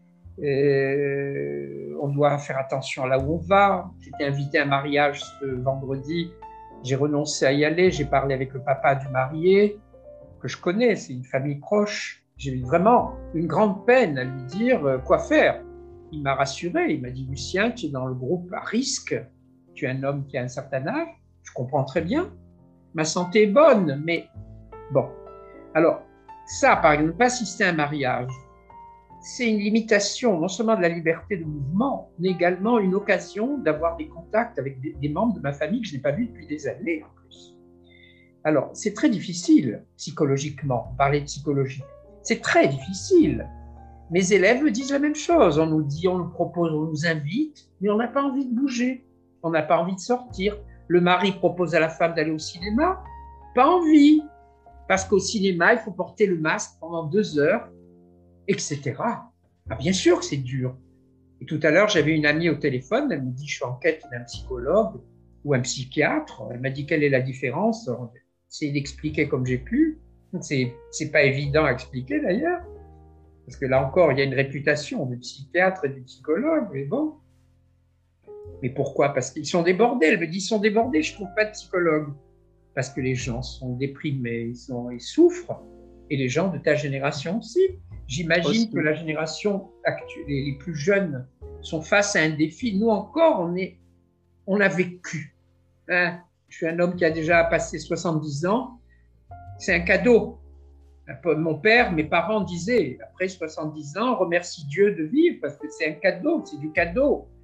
et on doit faire attention à là où on va. J'étais invité à un mariage ce vendredi, j'ai renoncé à y aller, j'ai parlé avec le papa du marié, que je connais, c'est une famille proche. J'ai eu vraiment une grande peine à lui dire quoi faire. Il m'a rassuré, il m'a dit « Lucien, tu es dans le groupe à risque, tu es un homme qui a un certain âge, je comprends très bien, ma santé est bonne, mais bon. » Alors, ça, par exemple, ne pas assister à un mariage, c'est une limitation non seulement de la liberté de mouvement, mais également une occasion d'avoir des contacts avec des, des membres de ma famille que je n'ai pas vus depuis des années en plus. Alors, c'est très difficile psychologiquement, parler de psychologie, c'est très difficile. Mes élèves me disent la même chose, on nous dit, on nous propose, on nous invite, mais on n'a pas envie de bouger. On n'a pas envie de sortir. Le mari propose à la femme d'aller au cinéma. Pas envie. Parce qu'au cinéma, il faut porter le masque pendant deux heures, et cetera. Ah, bien sûr que c'est dur. Et tout à l'heure, j'avais une amie au téléphone. Elle me dit, je suis en quête d'un psychologue ou un psychiatre. Elle m'a dit, quelle est la différence? J'ai essayé d'expliquer comme j'ai pu. C'est, c'est pas évident à expliquer d'ailleurs. Parce que là encore, il y a une réputation du psychiatre et du psychologue. Mais bon. Mais pourquoi? Parce qu'ils sont débordés. Elle me dit, ils sont débordés, je ne trouve pas de psychologue. Parce que les gens sont déprimés, ils, sont, ils souffrent. Et les gens de ta génération aussi. J'imagine aussi que la génération actuelle, les plus jeunes, sont face à un défi. Nous encore, on, est, on a vécu. Hein? Je suis un homme qui a déjà passé soixante-dix ans. C'est un cadeau. Mon père, mes parents disaient, après soixante-dix ans, remercie Dieu de vivre, parce que c'est un cadeau, c'est du cadeau.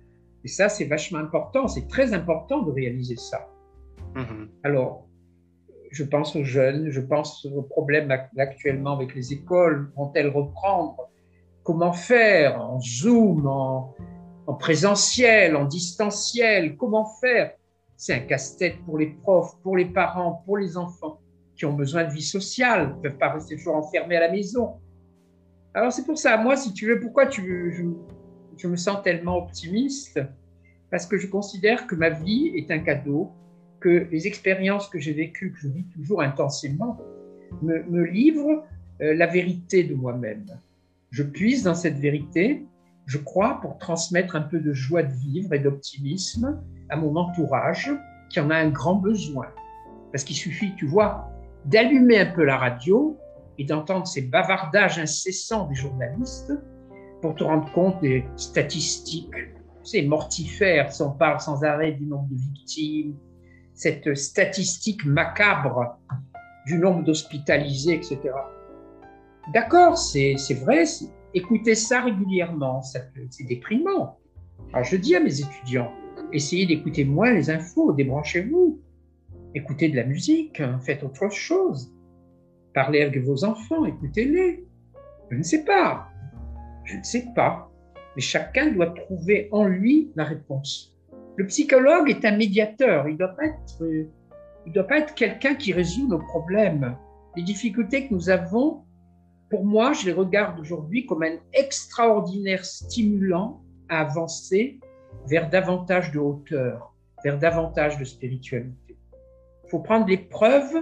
Et ça, c'est vachement important, c'est très important de réaliser ça. Mmh. Alors, je pense aux jeunes, je pense aux problèmes actuellement avec les écoles, vont-elles reprendre? Comment faire en Zoom, en, en présentiel, en distanciel? Comment faire? C'est un casse-tête pour les profs, pour les parents, pour les enfants qui ont besoin de vie sociale, ils ne peuvent pas rester toujours enfermés à la maison. Alors c'est pour ça, moi, si tu veux, pourquoi tu, je, je me sens tellement optimiste? Parce que je considère que ma vie est un cadeau, que les expériences que j'ai vécues, que je vis toujours intensément, me, me livrent euh, la vérité de moi-même. Je puise dans cette vérité, je crois, pour transmettre un peu de joie de vivre et d'optimisme à mon entourage qui en a un grand besoin. Parce qu'il suffit, tu vois, d'allumer un peu la radio et d'entendre ces bavardages incessants des journalistes pour te rendre compte des statistiques. C'est mortifère, si on parle sans arrêt du nombre de victimes, cette statistique macabre du nombre d'hospitalisés, et cetera. D'accord, c'est, c'est vrai, c'est, écoutez ça régulièrement, ça, c'est déprimant. Alors je dis à mes étudiants, essayez d'écouter moins les infos, débranchez-vous, écoutez de la musique, hein, faites autre chose, parlez avec vos enfants, écoutez-les. Je ne sais pas, je ne sais pas, mais chacun doit trouver en lui la réponse. Le psychologue est un médiateur, il ne doit pas être, il doit pas être quelqu'un qui résout nos problèmes. Les difficultés que nous avons, pour moi, je les regarde aujourd'hui comme un extraordinaire stimulant à avancer vers davantage de hauteur, vers davantage de spiritualité. Il faut prendre l'épreuve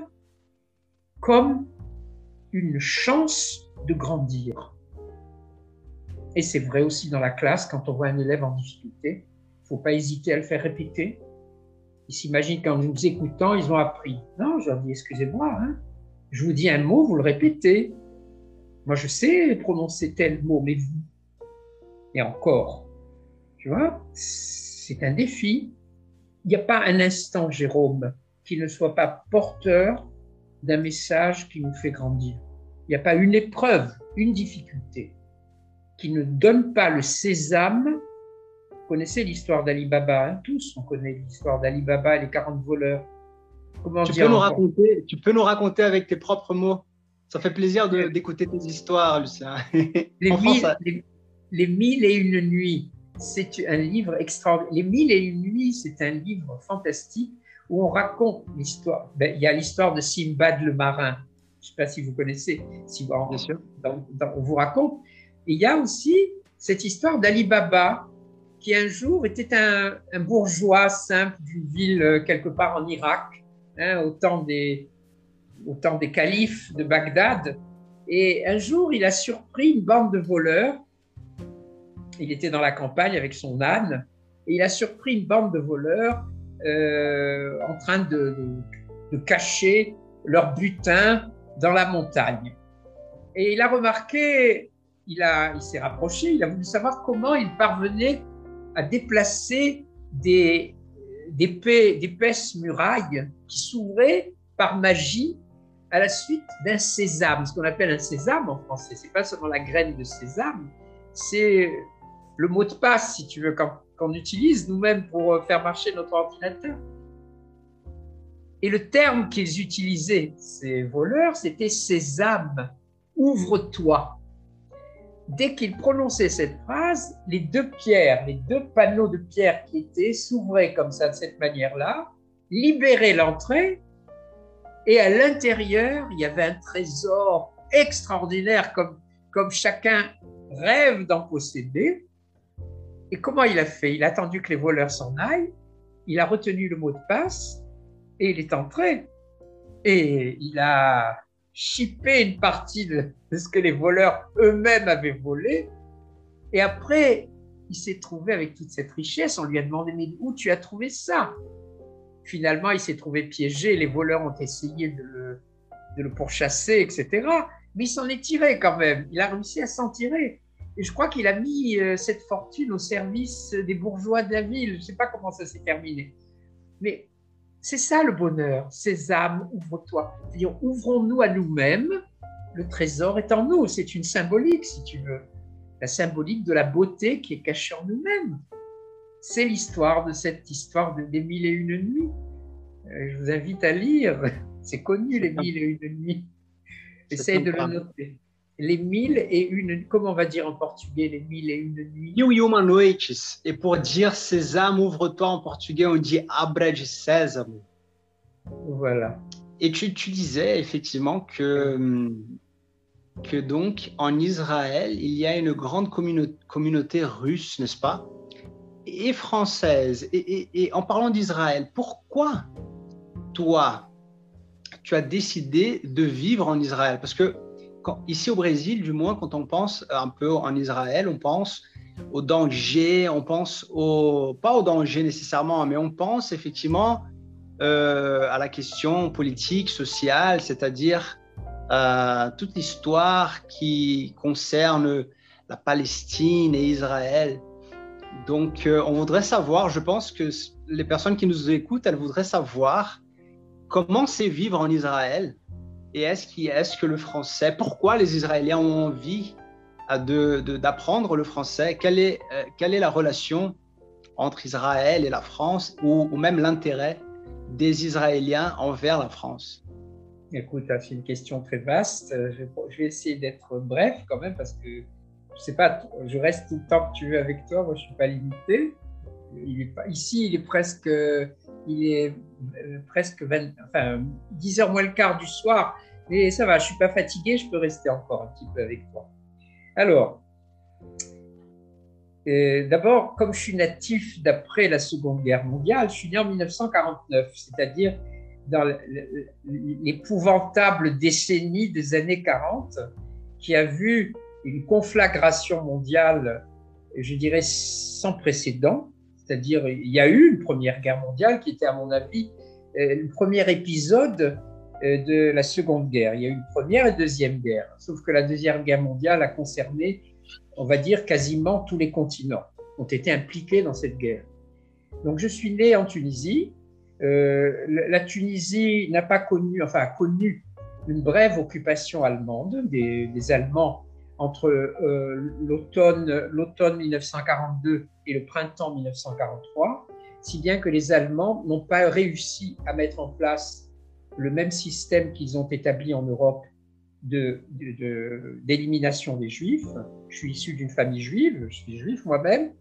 comme une chance de grandir. Et c'est vrai aussi dans la classe, quand on voit un élève en difficulté, il ne faut pas hésiter à le faire répéter. Ils s'imaginent qu'en nous écoutant, ils ont appris. Non, je leur dis, excusez-moi, hein, je vous dis un mot, vous le répétez. Moi, je sais prononcer tel mot, mais vous, et encore, tu vois, c'est un défi. Il n'y a pas un instant, Jérôme, qui ne soit pas porteur d'un message qui nous fait grandir. Il n'y a pas une épreuve, une difficulté qui ne donne pas le sésame. Vous connaissez l'histoire d'Ali Baba, hein, tous, on connaît l'histoire d'Ali Baba et les quarante voleurs. Comment tu, dire peux nous raconter, tu peux nous raconter avec tes propres mots. Ça fait plaisir de, d'écouter tes histoires, Lucien. Les, mille, ça... les, les mille et une nuits, c'est un livre extraordinaire. Les mille et une nuits, c'est un livre fantastique où on raconte l'histoire. Ben, il y a l'histoire de Simbad le marin. Je ne sais pas si vous connaissez. Si, bon, Bien sûr. Dans, dans, on vous raconte. Et il y a aussi cette histoire d'Ali Baba, qui un jour était un, un bourgeois simple d'une ville quelque part en Irak, hein, au temps des, au temps des califes de Bagdad. Et un jour, il a surpris une bande de voleurs. Il était dans la campagne avec son âne, et il a surpris une bande de voleurs euh, en train de, de, de cacher leur butin dans la montagne. Et il a remarqué, il, a, il s'est rapproché, il a voulu savoir comment ils parvenaient à déplacer des, des d'épaisses murailles qui s'ouvraient par magie à la suite d'un sésame. Ce qu'on appelle un sésame en français, c'est pas seulement la graine de sésame, c'est le mot de passe, si tu veux, qu'on, qu'on utilise nous-mêmes pour faire marcher notre ordinateur. Et le terme qu'ils utilisaient, ces voleurs, c'était sésame, ouvre-toi. Dès qu'ils prononçaient cette phrase, les deux pierres, les deux panneaux de pierre qui étaient s'ouvraient comme ça, de cette manière-là, libéraient l'entrée, et à l'intérieur, il y avait un trésor extraordinaire, comme, comme chacun rêve d'en posséder. Et comment il a fait? Il a attendu que les voleurs s'en aillent, il a retenu le mot de passe, et il est entré. Et il a chippé une partie de, de ce que les voleurs eux-mêmes avaient volé. Et après, il s'est trouvé avec toute cette richesse. On lui a demandé, mais où tu as trouvé ça? Finalement, il s'est trouvé piégé. Les voleurs ont essayé de le, de le pourchasser, et cetera. Mais il s'en est tiré quand même. Il a réussi à s'en tirer. Et je crois qu'il a mis euh, cette fortune au service des bourgeois de la ville. Je ne sais pas comment ça s'est terminé. Mais c'est ça le bonheur. Sésame, ouvre-toi. C'est-à-dire, ouvrons-nous à nous-mêmes. Le trésor est en nous. C'est une symbolique, si tu veux. La symbolique de la beauté qui est cachée en nous-mêmes. c'est l'histoire de cette histoire de, des mille et une nuits. Euh, je vous invite à lire. C'est connu, les mille et une nuits. Essaye de le noter. Les mille et une, comment on va dire en portugais, les mille et une nuits? Mil e uma noites. Et pour dire Sésame, ouvre-toi en portugais, on dit Abra de Sésamo. Voilà. Et tu, tu disais effectivement que, que donc en Israël, il y a une grande communauté, communauté russe, n'est-ce pas? Et française. Et, et, et en parlant d'Israël, pourquoi toi, tu as décidé de vivre en Israël? Parce que quand, ici au Brésil, du moins, quand on pense un peu en Israël, on pense au danger, on pense au, pas au danger nécessairement, mais on pense effectivement euh, à la question politique, sociale, c'est-à-dire euh, toute l'histoire qui concerne la Palestine et Israël. Donc, euh, on voudrait savoir, je pense que les personnes qui nous écoutent, elles voudraient savoir comment c'est vivre en Israël et est-ce, qu'il, est-ce que le français, pourquoi les Israéliens ont envie de, de, d'apprendre le français, quelle est, euh, quelle est la relation entre Israël et la France ou, ou même l'intérêt des Israéliens envers la France? Écoute, c'est une question très vaste. Je vais essayer d'être bref quand même parce que je sais pas, je reste tout le temps que tu veux avec toi, moi je suis pas limité. Il est pas, ici, il est presque, il est presque vingt, enfin, dix heures moins le quart du soir, mais ça va, je suis pas fatigué, je peux rester encore un petit peu avec toi. Alors, euh, d'abord, comme je suis natif d'après la Seconde Guerre mondiale, je suis né en mille neuf cent quarante-neuf, c'est-à-dire dans l'épouvantable décennie des années quarante, qui a vu une conflagration mondiale, je dirais, sans précédent. C'est-à-dire, il y a eu une première guerre mondiale qui était, à mon avis, le premier épisode de la Seconde Guerre. Il y a eu une première et deuxième guerre. Sauf que la deuxième guerre mondiale a concerné, on va dire, quasiment tous les continents, ont été impliqués dans cette guerre. Donc, je suis né en Tunisie. Euh, la Tunisie n'a pas connu, enfin, a connu une brève occupation allemande, des, des Allemands entre euh, l'automne, l'automne mille neuf cent quarante-deux et le printemps mille neuf cent quarante-trois, si bien que les Allemands n'ont pas réussi à mettre en place le même système qu'ils ont établi en Europe de, de, de, d'élimination des Juifs. Je suis issu d'une famille juive, je suis juif moi-même,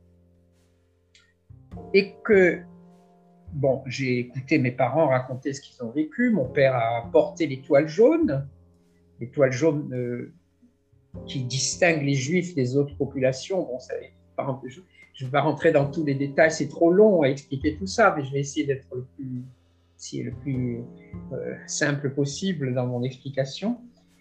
et que, bon, j'ai écouté mes parents raconter ce qu'ils ont vécu. Mon père a porté l'étoile jaune, l'étoile jaune euh, qui distingue les Juifs des autres populations. Bon, ça, je ne vais pas rentrer dans tous les détails, c'est trop long à expliquer tout ça, mais je vais essayer d'être le plus, si, le plus euh, simple possible dans mon explication.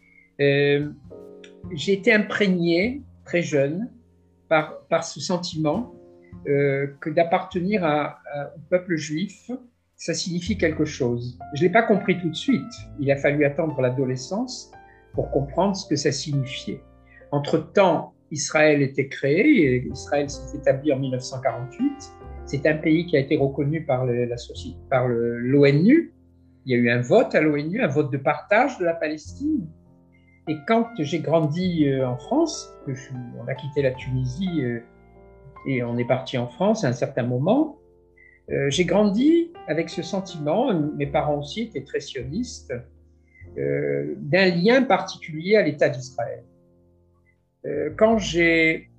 Euh, j'ai été imprégné, très jeune, par, par ce sentiment euh, que d'appartenir à, à, au peuple juif, ça signifie quelque chose. Je ne l'ai pas compris tout de suite. Il a fallu attendre l'adolescence pour comprendre ce que ça signifiait. Entre-temps, Israël était créé, et Israël s'est établi en mille neuf cent quarante-huit. C'est un pays qui a été reconnu par, le, la société, par le, l'ONU. Il y a eu un vote à l'ONU, un vote de partage de la Palestine. Et quand j'ai grandi en France, que je, on a quitté la Tunisie et on est parti en France à un certain moment, euh, j'ai grandi avec ce sentiment, mes parents aussi étaient très sionistes, euh, d'un lien particulier à l'État d'Israël. Euh, quand j'ai,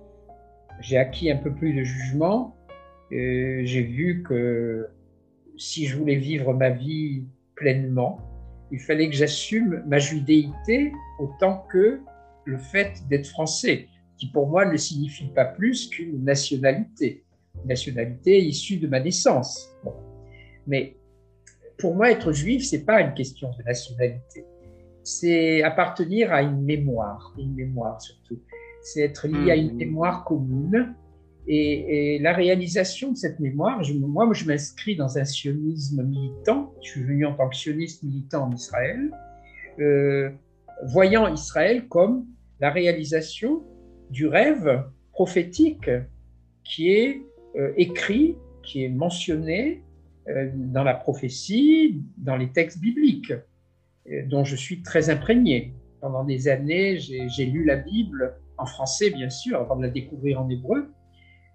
j'ai acquis un peu plus de jugement, euh, j'ai vu que si je voulais vivre ma vie pleinement, il fallait que j'assume ma judéité autant que le fait d'être français, qui pour moi ne signifie pas plus qu'une nationalité, une nationalité issue de ma naissance. Bon. Mais pour moi, être juif, c'est pas une question de nationalité. C'est appartenir à une mémoire, une mémoire surtout. C'est être lié à une mémoire commune. Et, et la réalisation de cette mémoire, je, moi, je m'inscris dans un sionisme militant. Je suis venu en tant que sioniste militant en Israël, euh, voyant Israël comme la réalisation du rêve prophétique qui est euh, écrit, qui est mentionné euh, dans la prophétie, dans les textes bibliques, euh, dont je suis très imprégné. Pendant des années, j'ai, j'ai lu la Bible en français, bien sûr, avant de la découvrir en hébreu.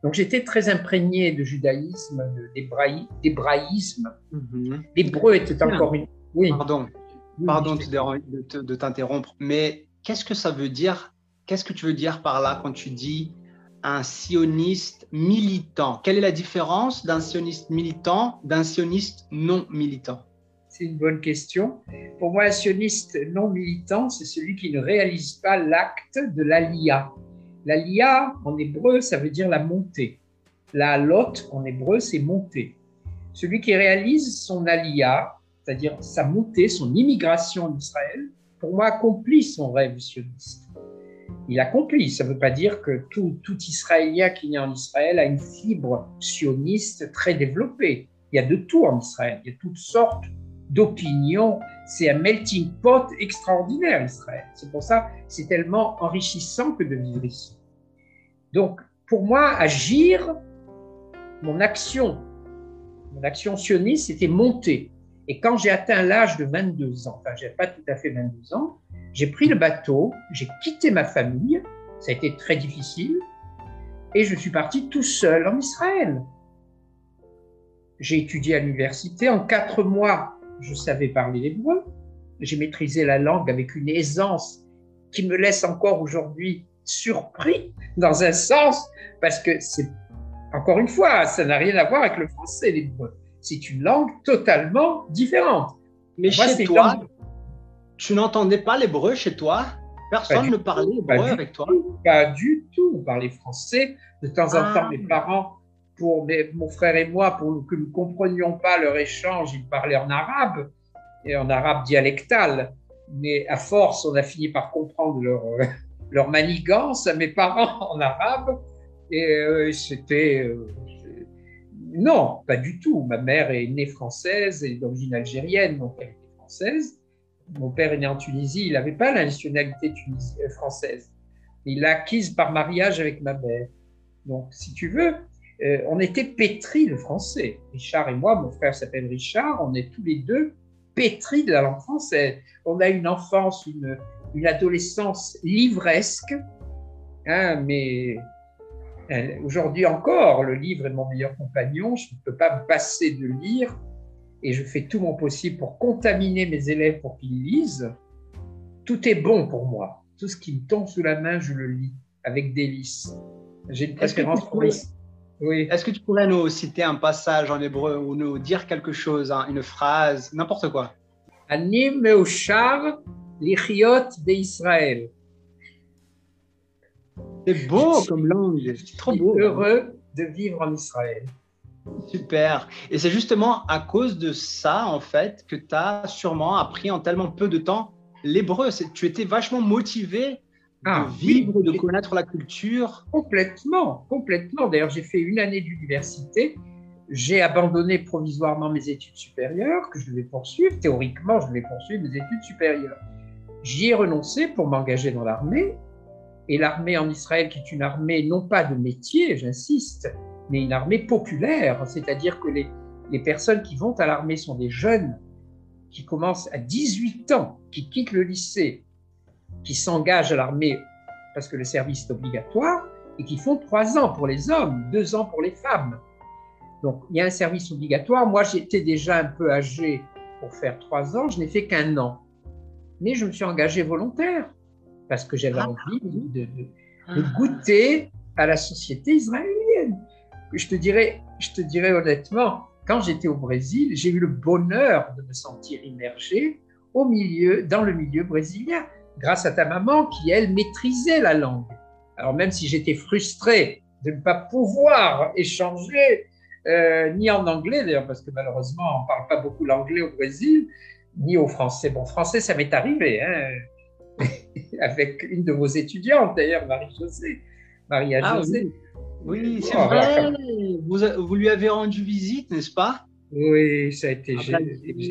Donc j'étais très imprégné de judaïsme, d'hébraïsme. Mm-hmm. L'hébreu était encore une... Oui. Pardon, Pardon de, de t'interrompre, mais qu'est-ce que ça veut dire? Qu'est-ce que tu veux dire par là quand tu dis un sioniste militant? Quelle est la différence d'un sioniste militant d'un sioniste non militant? C'est une bonne question. Pour moi, un sioniste non militant, c'est celui qui ne réalise pas l'acte de l'aliyah. L'aliyah, en hébreu, ça veut dire la montée. La lot, en hébreu, c'est monter. Celui qui réalise son aliyah, c'est-à-dire sa montée, son immigration en Israël, pour moi, accomplit son rêve sioniste. Il accomplit, ça ne veut pas dire que tout, tout Israélien qui naît en Israël a une fibre sioniste très développée. Il y a de tout en Israël, il y a toutes sortes d'opinions. C'est un melting pot extraordinaire, Israël. C'est pour ça que c'est tellement enrichissant que de vivre ici. Donc, pour moi, agir, mon action, mon action sioniste, c'était monter. Et quand j'ai atteint l'âge de vingt-deux ans, enfin, je n'ai pas tout à fait vingt-deux ans, j'ai pris le bateau, j'ai quitté ma famille, ça a été très difficile, et je suis parti tout seul en Israël. J'ai étudié à l'université. En quatre mois, je savais parler l'hébreu. J'ai maîtrisé la langue avec une aisance qui me laisse encore aujourd'hui surpris, dans un sens, parce que c'est, encore une fois, ça n'a rien à voir avec le français, l'hébreu. C'est une langue totalement différente. Mais moi, chez toi, langue... tu n'entendais pas l'hébreu chez toi? Personne ne parlait hébreu avec toi? Pas du tout. On parlait français. De temps en ah. temps, mes parents, pour mes, mon frère et moi, pour que nous ne comprenions pas leur échange, ils parlaient en arabe, et en arabe dialectal. Mais à force, on a fini par comprendre leur, leur manigance à mes parents en arabe. Et euh, c'était... Euh, non, pas du tout. Ma mère est née française et d'origine algérienne, donc elle était française. Mon père est né en Tunisie, il n'avait pas la nationalité tunis- française. Il l'a acquise par mariage avec ma mère. Donc, si tu veux, euh, on était pétris de français. Richard et moi, mon frère s'appelle Richard, on est tous les deux pétris de la langue française. On a une enfance, une, une adolescence livresque, hein, mais euh, aujourd'hui encore, le livre est mon meilleur compagnon, je ne peux pas me passer de lire. Et je fais tout mon possible pour contaminer mes élèves pour qu'ils lisent. Tout est bon pour moi. Tout ce qui me tombe sous la main, je le lis avec délice. J'ai une préférence pour les... Oui. Est-ce que tu pourrais nous citer un passage en hébreu ou nous dire quelque chose, hein, une phrase, n'importe quoi? Ani meushar lichiot beIsraël. C'est beau comme langue, c'est trop beau. Heureux de vivre en Israël. Super. Et c'est justement à cause de ça, en fait, que tu as sûrement appris en tellement peu de temps l'hébreu. Tu étais vachement motivé ah, de vivre, oui. de connaître la culture. Complètement, complètement. D'ailleurs, j'ai fait une année d'université. J'ai abandonné provisoirement mes études supérieures, que je devais poursuivre. Théoriquement, je devais poursuivre mes études supérieures. J'y ai renoncé pour m'engager dans l'armée. Et l'armée en Israël, qui est une armée non pas de métier, j'insiste, mais une armée populaire, c'est-à-dire que les, les personnes qui vont à l'armée sont des jeunes qui commencent à dix-huit ans, qui quittent le lycée, qui s'engagent à l'armée parce que le service est obligatoire et qui font trois ans pour les hommes, deux ans pour les femmes. Donc, il y a un service obligatoire. Moi, j'étais déjà un peu âgé pour faire trois ans, je n'ai fait qu'un an. Mais je me suis engagé volontaire parce que j'avais ah, envie de, de, de goûter à la société israélienne. Je te dirais, je te dirais honnêtement, quand j'étais au Brésil, j'ai eu le bonheur de me sentir immergé au milieu, dans le milieu brésilien, grâce à ta maman qui, elle, maîtrisait la langue. Alors même si j'étais frustré de ne pas pouvoir échanger, euh, ni en anglais d'ailleurs, parce que malheureusement, on ne parle pas beaucoup l'anglais au Brésil, ni au français. Bon, français, ça m'est arrivé, hein, avec une de vos étudiantes d'ailleurs, Marie-Josée, Maria-Josée. Ah, oui. Oui, c'est oh, vrai. Vous, vous lui avez rendu visite, n'est-ce pas? Oui, ça a été génial.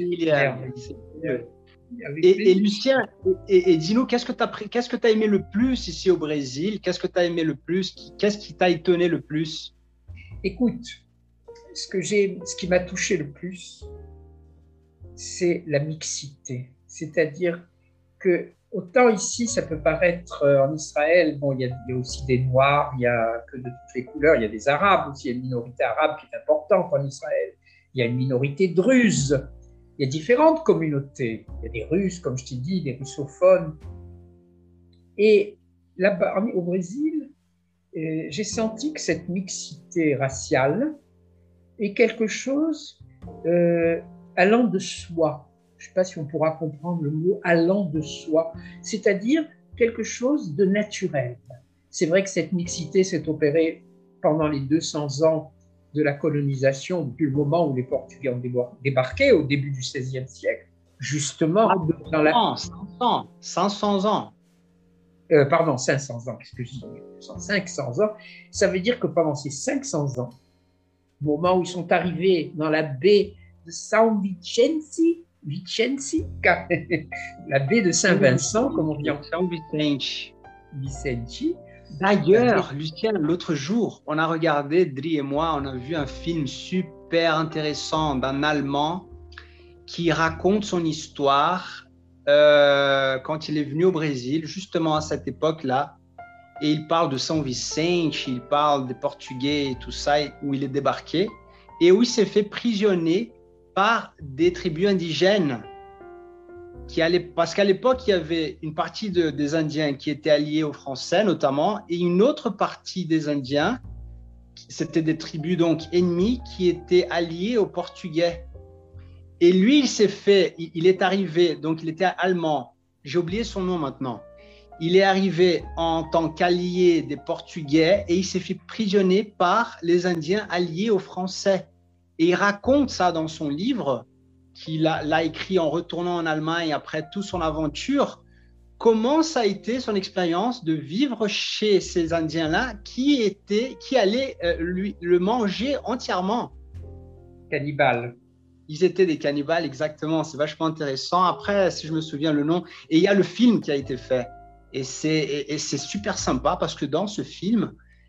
Et, et Lucien, et, et dis-nous, qu'est-ce que tu as qu'est-ce que tu as aimé le plus ici au Brésil? Qu'est-ce que tu as aimé le plus? Qu'est-ce qui t'a étonné le plus? Écoute, ce, que j'ai, ce qui m'a touché le plus, c'est la mixité. C'est-à-dire que autant ici, ça peut paraître euh, en Israël, bon, il y, a, il y a aussi des Noirs, il y a que de toutes les couleurs, il y a des Arabes aussi, il y a une minorité arabe qui est importante en Israël, il y a une minorité druze, il y a différentes communautés, il y a des Russes, comme je t'ai dit, des russophones. Et là-bas, au Brésil, euh, j'ai senti que cette mixité raciale est quelque chose euh, allant de soi. Je ne sais pas si on pourra comprendre le mot allant de soi, c'est-à-dire quelque chose de naturel. C'est vrai que cette mixité s'est opérée pendant les deux cents ans de la colonisation, depuis le moment où les Portugais ont débarqué au début du seizième siècle, justement Ah, dans la... cinq cents, cinq cents ans. Euh, pardon, cinq cents ans, qu'est-ce que je dis cinq cents ans, ça veut dire que pendant ces cinq cents ans, au moment où ils sont arrivés dans la baie de São Vicente, Vicenci, la baie de Saint-Vincent, comme on dit en São Vicente. Vicente. D'ailleurs, Lucien, l'autre jour, on a regardé, Dri et moi, on a vu un film super intéressant d'un Allemand qui raconte son histoire euh, quand il est venu au Brésil, justement à cette époque-là. Et il parle de São Vicente, il parle des Portugais et tout ça, où il est débarqué, et où il s'est fait prisonnier par des tribus indigènes. Qui allaient, parce qu'à l'époque, il y avait une partie de, des Indiens qui étaient alliés aux Français, notamment, et une autre partie des Indiens, c'était des tribus donc ennemies, qui étaient alliés aux Portugais. Et lui, il s'est fait, il, il est arrivé, donc il était allemand, j'ai oublié son nom maintenant. Il est arrivé en tant qu'allié des Portugais et il s'est fait prisonnier par les Indiens alliés aux Français. Et il raconte ça dans son livre, qu'il a, l'a écrit en retournant en Allemagne après toute son aventure, comment ça a été son expérience de vivre chez ces Indiens-là qui, étaient, qui allaient euh, lui, le manger entièrement. Cannibales. Ils étaient des cannibales, exactement. C'est vachement intéressant. Après, si je me souviens le nom, et il y a le film qui a été fait. Et c'est, et, et c'est super sympa parce que dans ce film,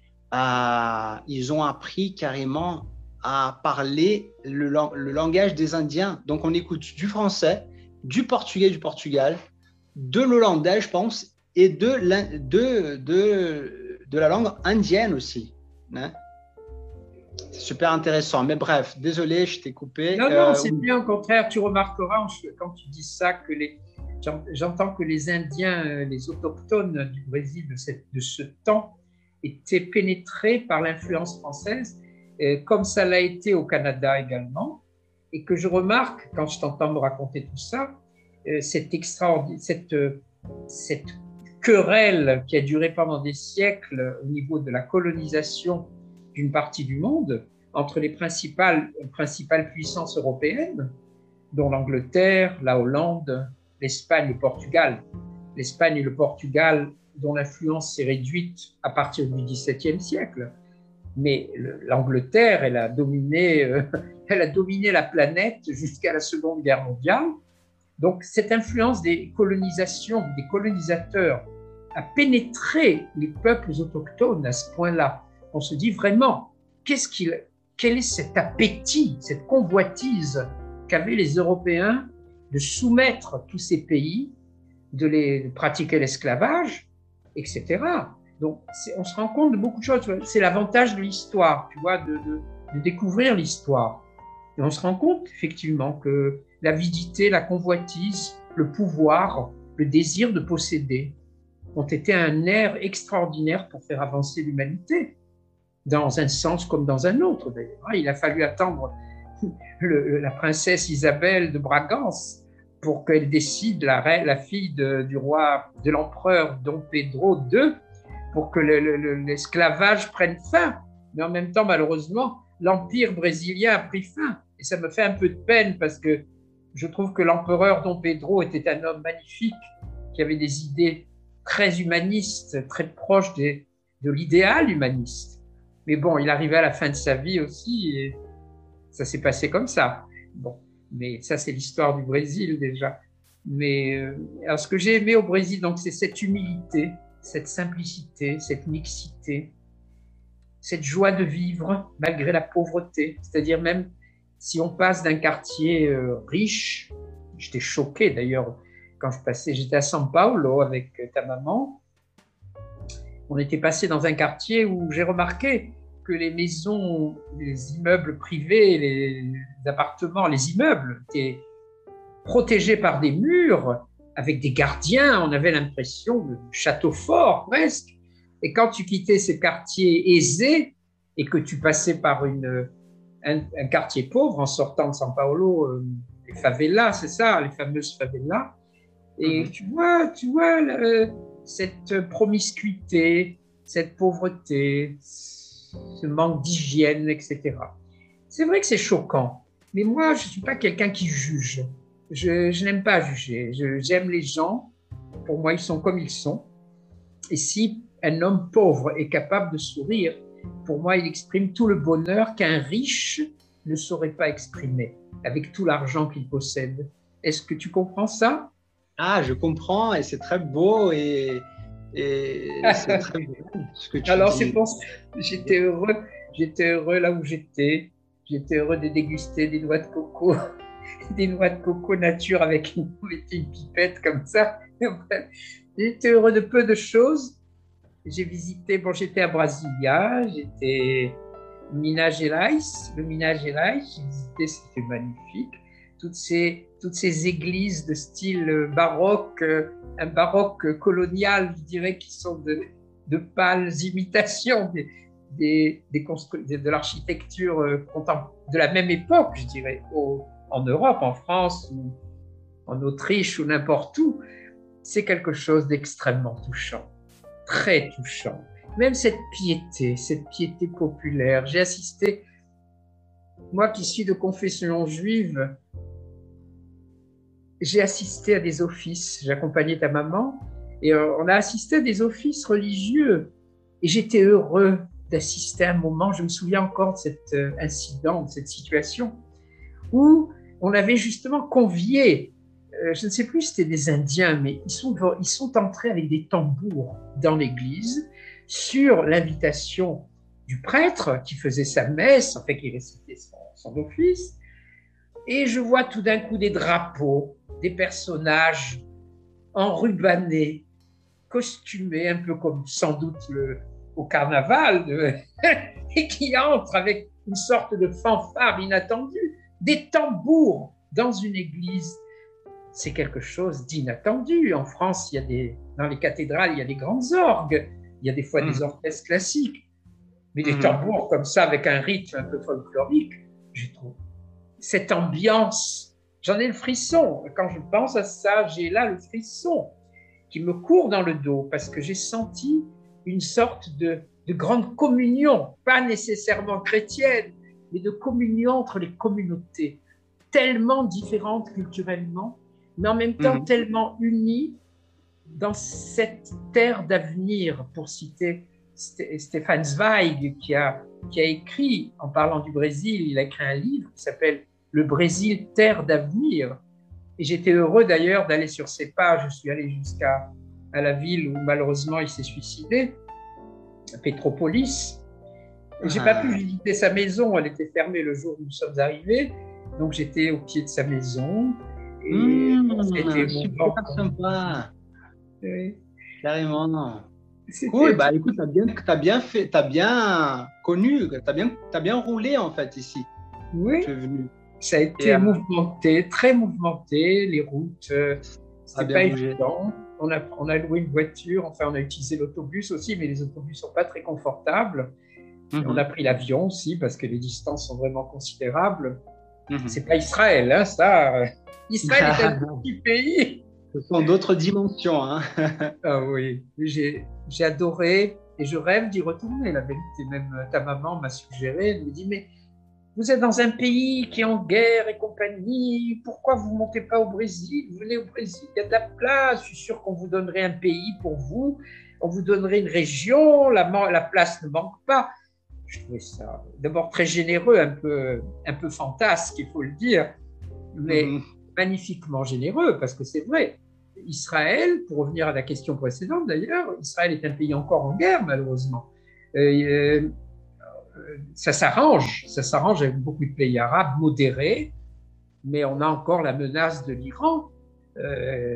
euh, ils ont appris carrément à parler le, le langage des Indiens. Donc, on écoute du français, du portugais du Portugal, de l'hollandais, je pense, et de la, de, de, de la langue indienne aussi. Hein? C'est super intéressant. Mais bref, désolé, je t'ai coupé. Non, non, euh, c'est bien, au contraire. Tu remarqueras quand tu dis ça que les... J'entends que les Indiens, les autochtones du Brésil de, cette, de ce temps étaient pénétrés par l'influence française, comme ça l'a été au Canada également, et que je remarque, quand je t'entends me raconter tout ça, cette, extraordinaire, cette, cette querelle qui a duré pendant des siècles au niveau de la colonisation d'une partie du monde entre les principales, principales puissances européennes, dont l'Angleterre, la Hollande, l'Espagne et le Portugal. L'Espagne et le Portugal, dont l'influence s'est réduite à partir du dix-septième siècle. Mais l'Angleterre, elle a dominé, euh, elle a dominé la planète jusqu'à la Seconde Guerre mondiale. Donc, cette influence des colonisations, des colonisateurs, a pénétré les peuples autochtones à ce point-là. On se dit vraiment, qu'est-ce qu'il, quel est cet appétit, cette convoitise qu'avaient les Européens de soumettre tous ces pays, de les de pratiquer l'esclavage, et cetera. Donc, on se rend compte de beaucoup de choses. C'est l'avantage de l'histoire, tu vois, de, de, de découvrir l'histoire. Et on se rend compte, effectivement, que l'avidité, la convoitise, le pouvoir, le désir de posséder ont été un nerf extraordinaire pour faire avancer l'humanité, dans un sens comme dans un autre, d'ailleurs. Il a fallu attendre le, la princesse Isabelle de Bragance pour qu'elle décide, la, reine, la fille de, du roi, de l'empereur Dom Pedro deux, pour que le, le, l'esclavage prenne fin. Mais en même temps, malheureusement, l'empire brésilien a pris fin. Et ça me fait un peu de peine parce que je trouve que l'empereur Dom Pedro était un homme magnifique, qui avait des idées très humanistes, très proches des, de l'idéal humaniste. Mais bon, il arrivait à la fin de sa vie aussi et ça s'est passé comme ça. Bon, mais ça, c'est l'histoire du Brésil déjà. Mais euh, alors, ce que j'ai aimé au Brésil, donc, c'est cette humilité, cette simplicité, cette mixité, cette joie de vivre malgré la pauvreté. C'est-à-dire même si on passe d'un quartier euh, riche, j'étais choqué d'ailleurs quand je passais, j'étais à São Paulo avec ta maman. On était passé dans un quartier où j'ai remarqué que les maisons, les immeubles privés, les appartements, les immeubles étaient protégés par des murs avec des gardiens. On avait l'impression de château fort presque. Et quand tu quittais ces quartiers aisés et que tu passais par une, un, un quartier pauvre en sortant de São Paulo, euh, les favelas, c'est ça, les fameuses favelas. Et mm-hmm. tu vois, tu vois le, cette promiscuité, cette pauvreté, ce manque d'hygiène, et cetera. C'est vrai que c'est choquant, mais moi, je ne suis pas quelqu'un qui juge. Je, je n'aime pas juger. Je, j'aime les gens. Pour moi, ils sont comme ils sont. Et si un homme pauvre est capable de sourire, pour moi, il exprime tout le bonheur qu'un riche ne saurait pas exprimer avec tout l'argent qu'il possède. Est-ce que tu comprends ça? Ah, je comprends, et c'est très beau, et, et c'est très beau ce que tu Alors, dis. c'est pour ça que j'étais heureux, j'étais heureux là où j'étais. J'étais heureux de déguster des noix de coco, des noix de coco nature avec une, une pipette comme ça. J'étais heureux de peu de choses. J'ai visité, bon, j'étais à Brasilia, j'étais Minas Gerais, le Minas Gerais, j'ai visité, c'était magnifique. Toutes ces, toutes ces églises de style baroque, un baroque colonial, je dirais, qui sont de, de pâles imitations des, des, des constru- de, de l'architecture de la même époque, je dirais, au, en Europe, en France, ou en Autriche, ou n'importe où. C'est quelque chose d'extrêmement touchant, très touchant. Même cette piété, cette piété populaire. J'ai assisté, moi qui suis de confession juive, j'ai assisté à des offices, j'accompagnais ta maman, et on a assisté à des offices religieux. Et j'étais heureux d'assister à un moment, je me souviens encore de cet incident, de cette situation, où on avait justement convié, euh, je ne sais plus si c'était des Indiens, mais ils sont, ils sont entrés avec des tambours dans l'église, sur l'invitation du prêtre qui faisait sa messe, en fait qui récitait son, son office, et je vois tout d'un coup des drapeaux, des personnages enrubannés, costumés, un peu comme sans doute le, au carnaval, de, et qui entrent avec une sorte de fanfare inattendue, des tambours dans une église. C'est quelque chose d'inattendu. En France, il y a des, dans les cathédrales, il y a des grandes orgues, il y a des fois mmh. des orchestres classiques, mais des mmh. tambours comme ça, avec un rythme un peu folklorique, je trouve. Cette ambiance, j'en ai le frisson. Quand je pense à ça, j'ai là le frisson qui me court dans le dos parce que j'ai senti une sorte de, de grande communion, pas nécessairement chrétienne, mais de communion entre les communautés, tellement différentes culturellement, mais en même temps mmh. tellement unies dans cette terre d'avenir, pour citer Stefan Zweig, qui a, qui a écrit, en parlant du Brésil, il a écrit un livre qui s'appelle « Le Brésil, terre d'avenir ». Et j'étais heureux d'ailleurs d'aller sur ces pages. Je suis allé jusqu'à à la ville où malheureusement il s'est suicidé, à Petropolis. Et j'ai ah. pas pu visiter sa maison, elle était fermée le jour où nous sommes arrivés. Donc j'étais au pied de sa maison. Et mmh, c'était super sympa. Oui. Carrément, non. Cool, bah écoute, t'as bien, t'as bien fait, t'as bien connu, t'as bien, t'as bien roulé en fait ici. Oui. Tu es venu. Ça a été et, mouvementé, très mouvementé, les routes, euh, c'était pas évident. On a, on a loué une voiture, enfin on a utilisé l'autobus aussi, mais les autobus sont pas très confortables. Mm-hmm. On a pris l'avion aussi parce que les distances sont vraiment considérables. Mm-hmm. C'est pas Israël, hein, ça. Israël est un petit pays. Ce sont d'autres dimensions. Hein. Ah oui, j'ai, j'ai adoré et je rêve d'y retourner. La vérité, même ta maman m'a suggéré, elle me dit, mais vous êtes dans un pays qui est en guerre et compagnie, pourquoi vous ne montez pas au Brésil? Vous venez au Brésil, il y a de la place, je suis sûr qu'on vous donnerait un pays pour vous, on vous donnerait une région, la, la place ne manque pas. Je trouvais ça d'abord très généreux, un peu, un peu fantasque, il faut le dire, mais mmh. magnifiquement généreux, parce que c'est vrai. Israël, pour revenir à la question précédente d'ailleurs, Israël est un pays encore en guerre malheureusement. Euh, ça s'arrange, ça s'arrange avec beaucoup de pays arabes modérés, mais on a encore la menace de l'Iran. Euh,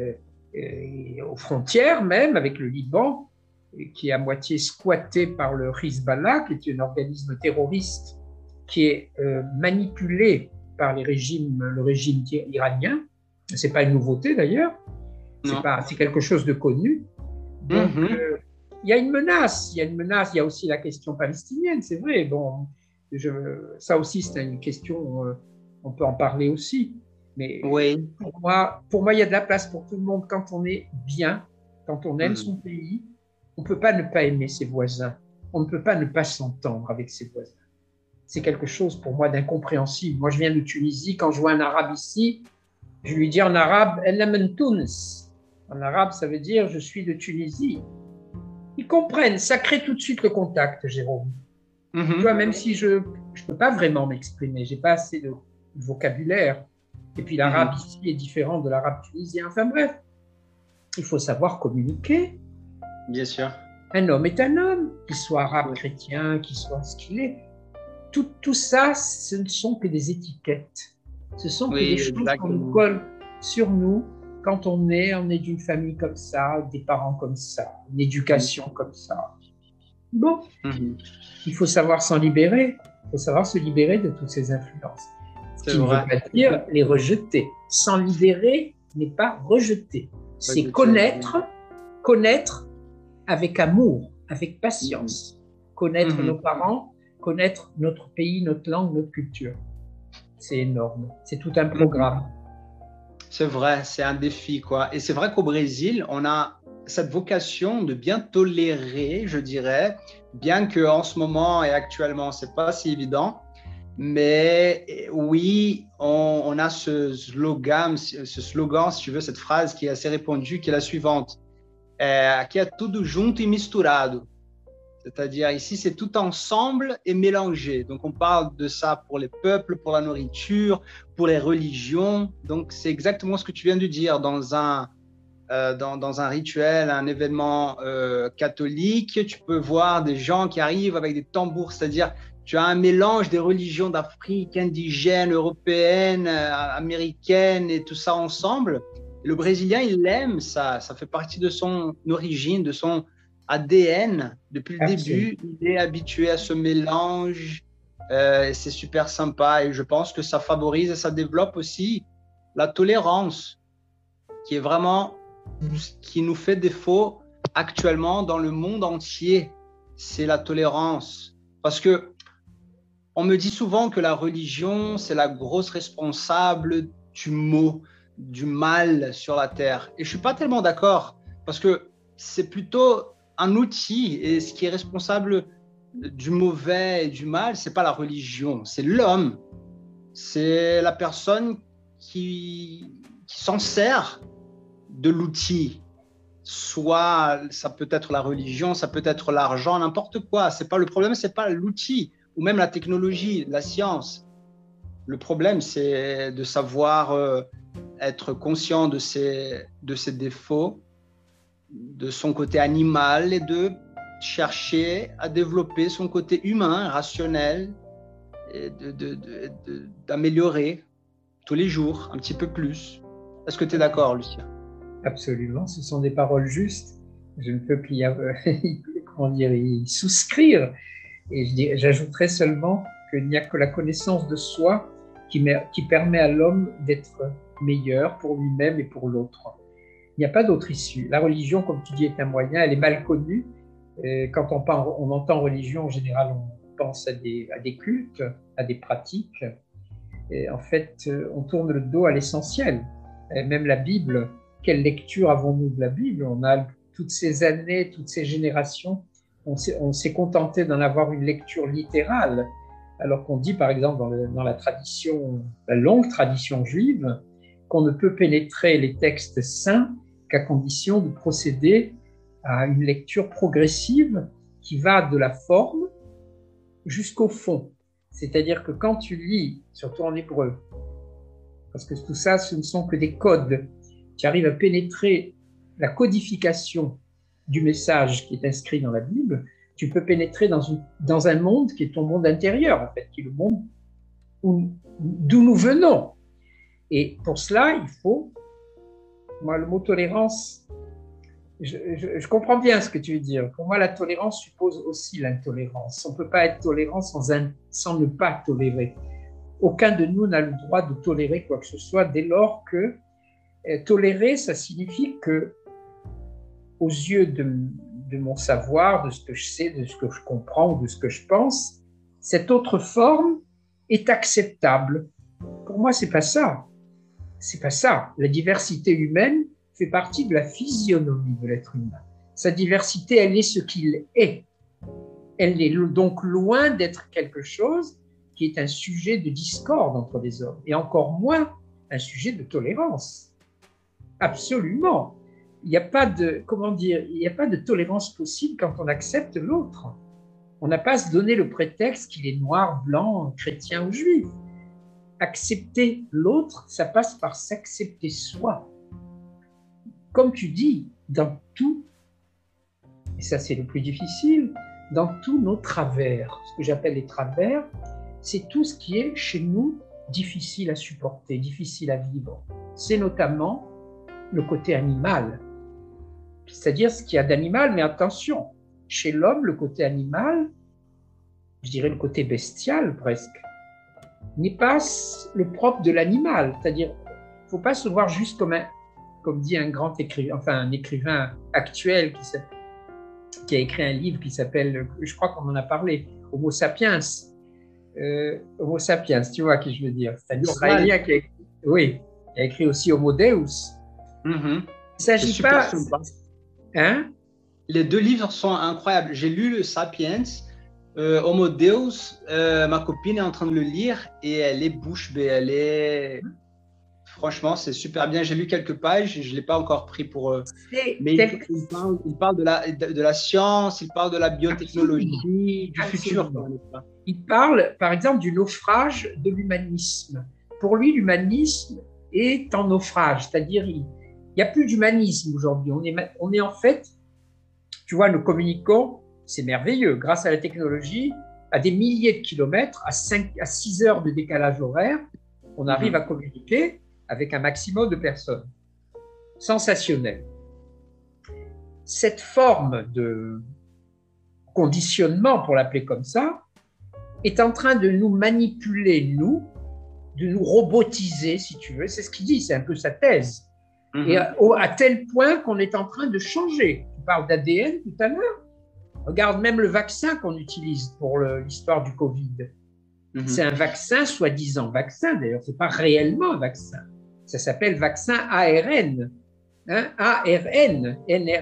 et aux frontières même avec le Liban, qui est à moitié squatté par le Hezbollah, qui est un organisme terroriste qui est euh, manipulé par les régimes, le régime iranien. Ce n'est pas une nouveauté d'ailleurs, c'est, pas, c'est quelque chose de connu. Donc, il mm-hmm. euh, y a une menace, il y a une menace, il y a aussi la question palestinienne, c'est vrai. Bon, je, ça aussi, c'est une question, euh, on peut en parler aussi. Mais oui. pour moi, pour moi, il y a de la place pour tout le monde quand on est bien, quand on aime mm-hmm. son pays. On ne peut pas ne pas aimer ses voisins. On ne peut pas ne pas s'entendre avec ses voisins. C'est quelque chose pour moi d'incompréhensible. Moi, je viens de Tunisie. Quand je vois un arabe ici, je lui dis en arabe « El Amen Tunis ». En arabe, ça veut dire « je suis de Tunisie ». Ils comprennent. Ça crée tout de suite le contact, Jérôme. Mm-hmm. Tu vois, même si je ne peux pas vraiment m'exprimer, je n'ai pas assez de vocabulaire. Et puis l'arabe mm-hmm. ici est différent de l'arabe tunisien. Enfin bref, il faut savoir communiquer. Bien sûr. Un homme est un homme, qu'il soit arabe, chrétien, qu'il soit ce qu'il est. Tout, tout ça, ce ne sont que des étiquettes. Ce sont oui, que des choses qu'on nous colle sur nous quand on est, on est d'une famille comme ça, des parents comme ça, une éducation mmh. comme ça. Bon, mmh. il faut savoir s'en libérer. Il faut savoir se libérer de toutes ces influences. Ce C'est qui vrai. ne veut pas dire les rejeter. S'en libérer n'est pas rejeter. C'est pas connaître, connaître avec amour, avec patience, mmh. connaître mmh. nos parents, connaître notre pays, notre langue, notre culture. C'est énorme, c'est tout un programme. C'est vrai, c'est un défi, quoi. Et c'est vrai qu'au Brésil, on a cette vocation de bien tolérer, je dirais, bien qu'en ce moment et actuellement, c'est pas si évident. Mais oui, on, on a ce slogan, ce slogan, si tu veux, cette phrase qui est assez répandue, qui est la suivante. É, aqui é tudo junto e misturado. C'est-à-dire ici, c'est tout ensemble et mélangé. Donc, on parle de ça pour les peuples, pour la nourriture, pour les religions. Donc, c'est exactement ce que tu viens de dire. Dans un, euh, dans, dans un rituel, un événement euh, catholique, tu peux voir des gens qui arrivent avec des tambours. C'est-à-dire, tu as un mélange des religions d'Afrique, indigène, européenne, euh, américaine et tout ça ensemble. Le Brésilien, il aime ça, ça fait partie de son origine, de son A D N. Depuis le Absolument. début, il est habitué à ce mélange, euh, et c'est super sympa. Et je pense que ça favorise et ça développe aussi la tolérance, qui est vraiment ce qui nous fait défaut actuellement dans le monde entier. C'est la tolérance. Parce que on me dit souvent que la religion, c'est la grosse responsable du mot, du mal sur la terre. Et je ne suis pas tellement d'accord, parce que c'est plutôt un outil, et ce qui est responsable du mauvais et du mal, ce n'est pas la religion, c'est l'homme. C'est la personne qui, qui s'en sert de l'outil. Soit ça peut être la religion, ça peut être l'argent, n'importe quoi. C'est pas, le problème, ce n'est pas l'outil, ou même la technologie, la science. Le problème, c'est de savoir euh, être conscient de ses, de ses défauts, de son côté animal, et de chercher à développer son côté humain, rationnel, et de, de, de, de, d'améliorer tous les jours un petit peu plus. Est-ce que tu es d'accord, Lucien? Absolument, ce sont des paroles justes. Je ne peux qu'y comment dire, y souscrire. Et je dis, j'ajouterais seulement qu'il n'y a que la connaissance de soi qui, met, qui permet à l'homme d'être meilleur pour lui-même et pour l'autre. Il n'y a pas d'autre issue. La religion, comme tu dis, est un moyen, elle est mal connue. Et quand on, parle, on entend religion, en général, on pense à des, à des cultes, à des pratiques. Et en fait, on tourne le dos à l'essentiel. Et même la Bible, quelle lecture avons-nous de la Bible? On a toutes ces années, toutes ces générations, on s'est, on s'est contenté d'en avoir une lecture littérale, alors qu'on dit, par exemple, dans, le, dans la tradition, la longue tradition juive, qu'on ne peut pénétrer les textes saints qu'à condition de procéder à une lecture progressive qui va de la forme jusqu'au fond. C'est-à-dire que quand tu lis, surtout en hébreu, parce que tout ça, ce ne sont que des codes, tu arrives à pénétrer la codification du message qui est inscrit dans la Bible, tu peux pénétrer dans, une, dans un monde qui est ton monde intérieur, en fait, qui est le monde où, d'où nous venons. Et pour cela, il faut Moi, le mot tolérance, je, je, je comprends bien ce que tu veux dire. Pour moi, la tolérance suppose aussi l'intolérance. On ne peut pas être tolérant sans, un, sans ne pas tolérer. Aucun de nous n'a le droit de tolérer quoi que ce soit dès lors que euh, tolérer, ça signifie que, aux yeux de, de mon savoir, de ce que je sais, de ce que je comprends ou de ce que je pense, cette autre forme est acceptable. Pour moi, c'est pas ça. C'est pas ça. La diversité humaine fait partie de la physionomie de l'être humain. Sa diversité, elle est ce qu'il est. Elle est donc loin d'être quelque chose qui est un sujet de discorde entre les hommes, et encore moins un sujet de tolérance. Absolument. Il n'y a pas de, comment dire, il n'y a pas de tolérance possible quand on accepte l'autre. On n'a pas à se donner le prétexte qu'il est noir, blanc, chrétien ou juif. Accepter l'autre, ça passe par s'accepter soi. Comme tu dis, dans tout, et ça c'est le plus difficile, dans tous nos travers, ce que j'appelle les travers, c'est tout ce qui est chez nous difficile à supporter, difficile à vivre. C'est notamment le côté animal, c'est-à-dire ce qu'il y a d'animal, mais attention, chez l'homme, le côté animal, je dirais le côté bestial presque, n'est pas le propre de l'animal, c'est-à-dire il ne faut pas se voir juste comme un, comme dit un grand écrivain, enfin un écrivain actuel qui, qui a écrit un livre qui s'appelle, je crois qu'on en a parlé, Homo sapiens, euh, Homo sapiens, tu vois qui je veux dire, c'est un Israélien qui a écrit, oui, qui a écrit aussi Homo Deus. Mm-hmm. Il ne s'agit pas... Hein? Les deux livres sont incroyables. J'ai lu le Sapiens, euh, Homo Deus, euh, ma copine est en train de le lire et elle est bouche bée, elle est... Franchement, c'est super bien. J'ai lu quelques pages, je ne l'ai pas encore pris pour... Euh... Mais il, il, parle, il parle de la, de, de la science, il parle de la biotechnologie, Absolument. du futur. Absolument. Il parle, par exemple, du naufrage de l'humanisme. Pour lui, l'humanisme est en naufrage, c'est-à-dire il n'y a plus d'humanisme aujourd'hui. On est, on est en fait, tu vois, nous communiquons, c'est merveilleux, grâce à la technologie, à des milliers de kilomètres, à, cinq, à six heures de décalage horaire, on arrive mmh. à communiquer avec un maximum de personnes. Sensationnel. Cette forme de conditionnement, pour l'appeler comme ça, est en train de nous manipuler, nous, de nous robotiser, si tu veux. C'est ce qu'il dit, c'est un peu sa thèse. Mmh. Et à, à tel point qu'on est en train de changer. Tu parles d'A D N tout à l'heure. Regarde même le vaccin qu'on utilise pour le, l'histoire du Covid. Mmh. C'est un vaccin, soi-disant vaccin, d'ailleurs, ce n'est pas réellement un vaccin. Ça s'appelle vaccin A R N, hein, A R N, N R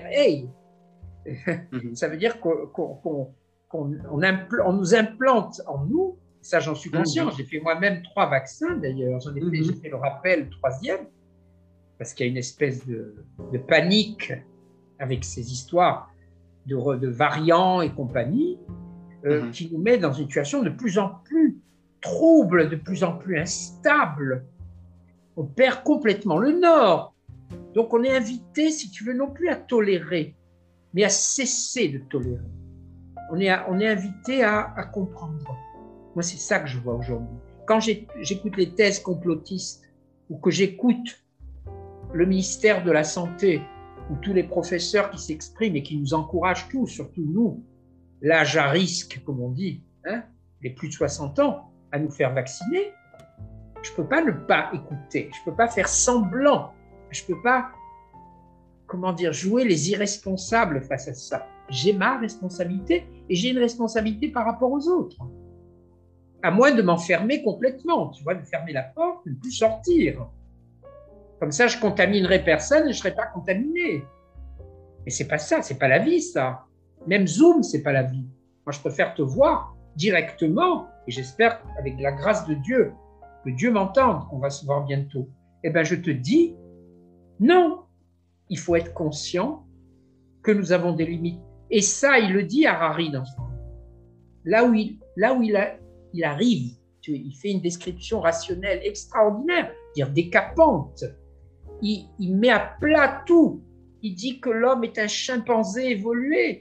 A. Mmh. Ça veut dire qu'on, qu'on, qu'on, qu'on on impl- on nous implante en nous, ça j'en suis conscient, mmh. j'ai fait moi-même trois vaccins d'ailleurs, j'en ai fait, mmh. j'ai fait le rappel, le troisième, parce qu'il y a une espèce de, de panique avec ces histoires de, de variants et compagnie, euh, mmh. qui nous met dans une situation de plus en plus trouble, de plus en plus instable. On perd complètement le nord. Donc on est invité, si tu veux, non plus à tolérer, mais à cesser de tolérer. On est, à, on est invité à, à comprendre. Moi, c'est ça que je vois aujourd'hui. Quand j'ai, j'écoute les thèses complotistes ou que j'écoute le ministère de la Santé ou tous les professeurs qui s'expriment et qui nous encouragent tous, surtout nous, l'âge à risque, comme on dit, hein, les plus de soixante ans, à nous faire vacciner, je ne peux pas ne pas écouter, je ne peux pas faire semblant, je ne peux pas, comment dire, jouer les irresponsables face à ça. J'ai ma responsabilité et j'ai une responsabilité par rapport aux autres. À moins de m'enfermer complètement, tu vois, de fermer la porte, de ne plus sortir. Comme ça, je contaminerai personne et je ne serai pas contaminé. Mais ce n'est pas ça, ce n'est pas la vie, ça. Même Zoom, ce n'est pas la vie. Moi, je préfère te voir directement et j'espère, avec la grâce de Dieu, que Dieu m'entende, qu'on va se voir bientôt. Eh bien, je te dis, non, il faut être conscient que nous avons des limites. Et ça, il le dit à Harari dans son livre. Là où il, là où il, a, il arrive, tu vois, il fait une description rationnelle extraordinaire, dire décapante. Il, il met à plat tout. Il dit que l'homme est un chimpanzé évolué.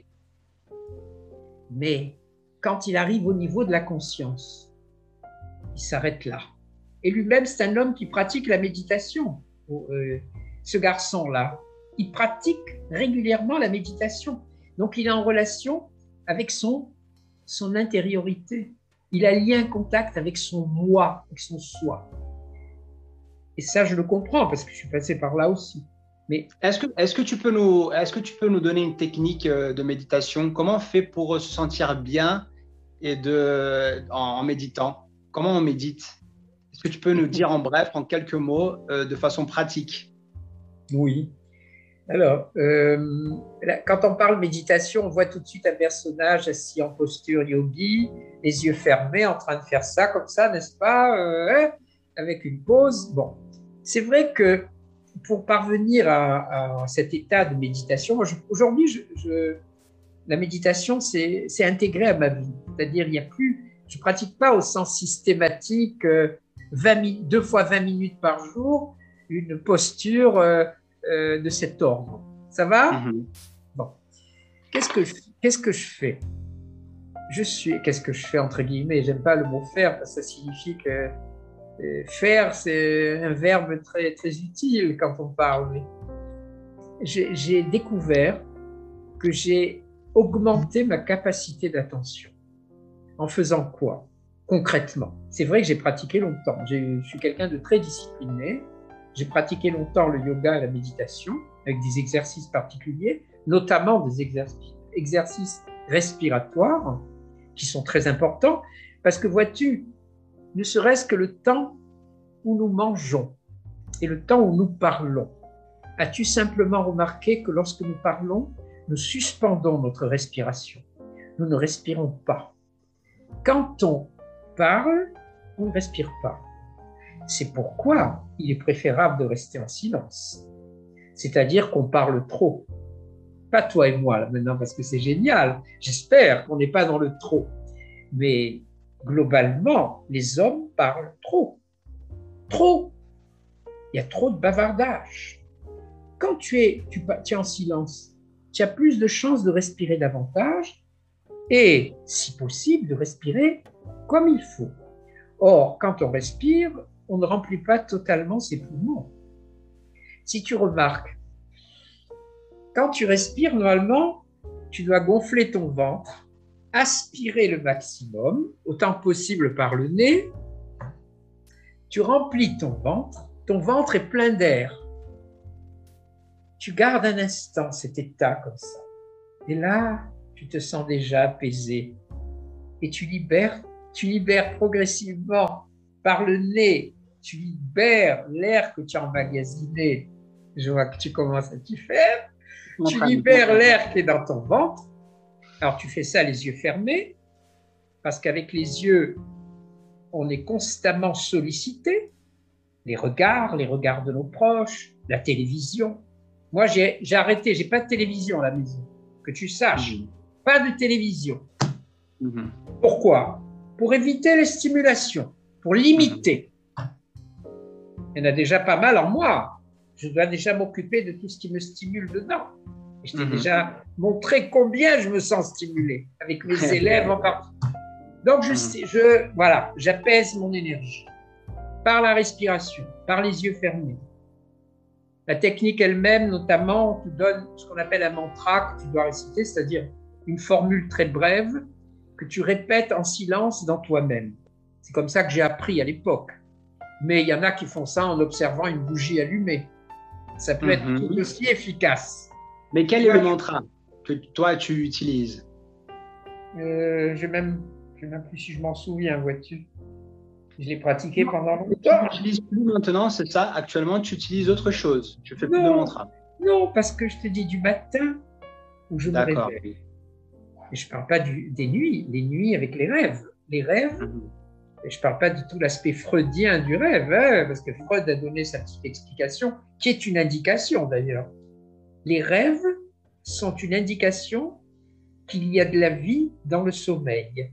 Mais quand il arrive au niveau de la conscience, il s'arrête là. Et lui-même, c'est un homme qui pratique la méditation. Euh, ce garçon-là, il pratique régulièrement la méditation. Donc, il est en relation avec son, son intériorité. Il a lié un contact avec son moi, avec son soi. Et ça, je le comprends parce que je suis passé par là aussi. Mais est-ce que, est-ce que tu peux nous, est-ce que tu peux nous donner une technique de méditation? Comment on fait pour se sentir bien et de, en, en méditant? Comment on médite? Est-ce que tu peux nous dire en bref, en quelques mots, euh, de façon pratique? Oui. Alors, euh, là, quand on parle méditation, on voit tout de suite un personnage assis en posture yogi, les yeux fermés, en train de faire ça comme ça, n'est-ce pas, euh, avec une pause. Bon, c'est vrai que pour parvenir à, à cet état de méditation, moi, je, aujourd'hui, je, je, la méditation, c'est, c'est intégré à ma vie. C'est-à-dire, il y a plus, je pratique pas au sens systématique, euh, vingt, deux fois vingt minutes par jour, une posture euh, euh, de cet ordre. Ça va? Mm-hmm. Bon. Qu'est-ce que, je, qu'est-ce que je fais? Je suis, qu'est-ce que je fais entre guillemets? J'aime pas le mot faire parce que ça signifie que euh, faire, c'est un verbe très, très utile quand on parle. Mais j'ai, j'ai découvert que j'ai augmenté ma capacité d'attention. En faisant quoi? Concrètement. C'est vrai que j'ai pratiqué longtemps. J'ai, je suis quelqu'un de très discipliné. J'ai pratiqué longtemps le yoga et la méditation avec des exercices particuliers, notamment des exercices, exercices respiratoires qui sont très importants parce que vois-tu, ne serait-ce que le temps où nous mangeons et le temps où nous parlons, as-tu simplement remarqué que lorsque nous parlons, nous suspendons notre respiration. Nous ne respirons pas. Quand on parle, on ne respire pas. C'est pourquoi il est préférable de rester en silence. C'est-à-dire qu'on parle trop. Pas toi et moi, là, maintenant, parce que c'est génial. J'espère qu'on n'est pas dans le trop. Mais globalement, les hommes parlent trop. Trop. Il y a trop de bavardage. Quand tu es, tu, tu es en silence, tu as plus de chances de respirer davantage et, si possible, de respirer comme il faut. Or, quand on respire, on ne remplit pas totalement ses poumons. Si tu remarques, quand tu respires, normalement, tu dois gonfler ton ventre, aspirer le maximum, autant possible par le nez. Tu remplis ton ventre, ton ventre est plein d'air. Tu gardes un instant cet état comme ça. Et là, tu te sens déjà apaisé. Et tu libères, tu libères progressivement par le nez, tu libères l'air que tu as emmagasiné. Je vois que tu commences à t'y faire. Tu libères l'air qui est dans ton ventre. Alors, tu fais ça les yeux fermés, parce qu'avec les yeux, on est constamment sollicité. Les regards, les regards de nos proches, la télévision. Moi, j'ai, j'ai arrêté, j'ai pas de télévision à la maison. Que tu saches, mmh. Pas de télévision. Mmh. Pourquoi? Pour éviter les stimulations, pour limiter. Mmh. Il y en a déjà pas mal en moi. Je dois déjà m'occuper de tout ce qui me stimule dedans. Et je t'ai mmh. déjà montré combien je me sens stimulé, avec mes élèves en particulier. Donc, je, sais, je, voilà, j'apaise mon énergie par la respiration, par les yeux fermés. La technique elle-même, notamment, te donne ce qu'on appelle un mantra que tu dois réciter, c'est-à-dire une formule très brève que tu répètes en silence dans toi-même. C'est comme ça que j'ai appris à l'époque. Mais il y en a qui font ça en observant une bougie allumée. Ça peut mm-hmm. être tout aussi efficace. Mais quel toi, est le mantra que toi, tu utilises? euh, Je ne sais même, même plus si je m'en souviens, vois-tu. Je l'ai pratiqué non, pendant longtemps. Tu n'utilises plus maintenant, c'est ça? Actuellement, tu utilises autre chose. Tu fais non, plus de mantra. Non, parce que je te dis du matin où je me réveille. Et je ne parle pas du, des nuits, les nuits avec les rêves. Les rêves, mm-hmm. et je ne parle pas de tout l'aspect freudien du rêve, hein, parce que Freud a donné sa petite explication, qui est une indication d'ailleurs. Les rêves sont une indication qu'il y a de la vie dans le sommeil.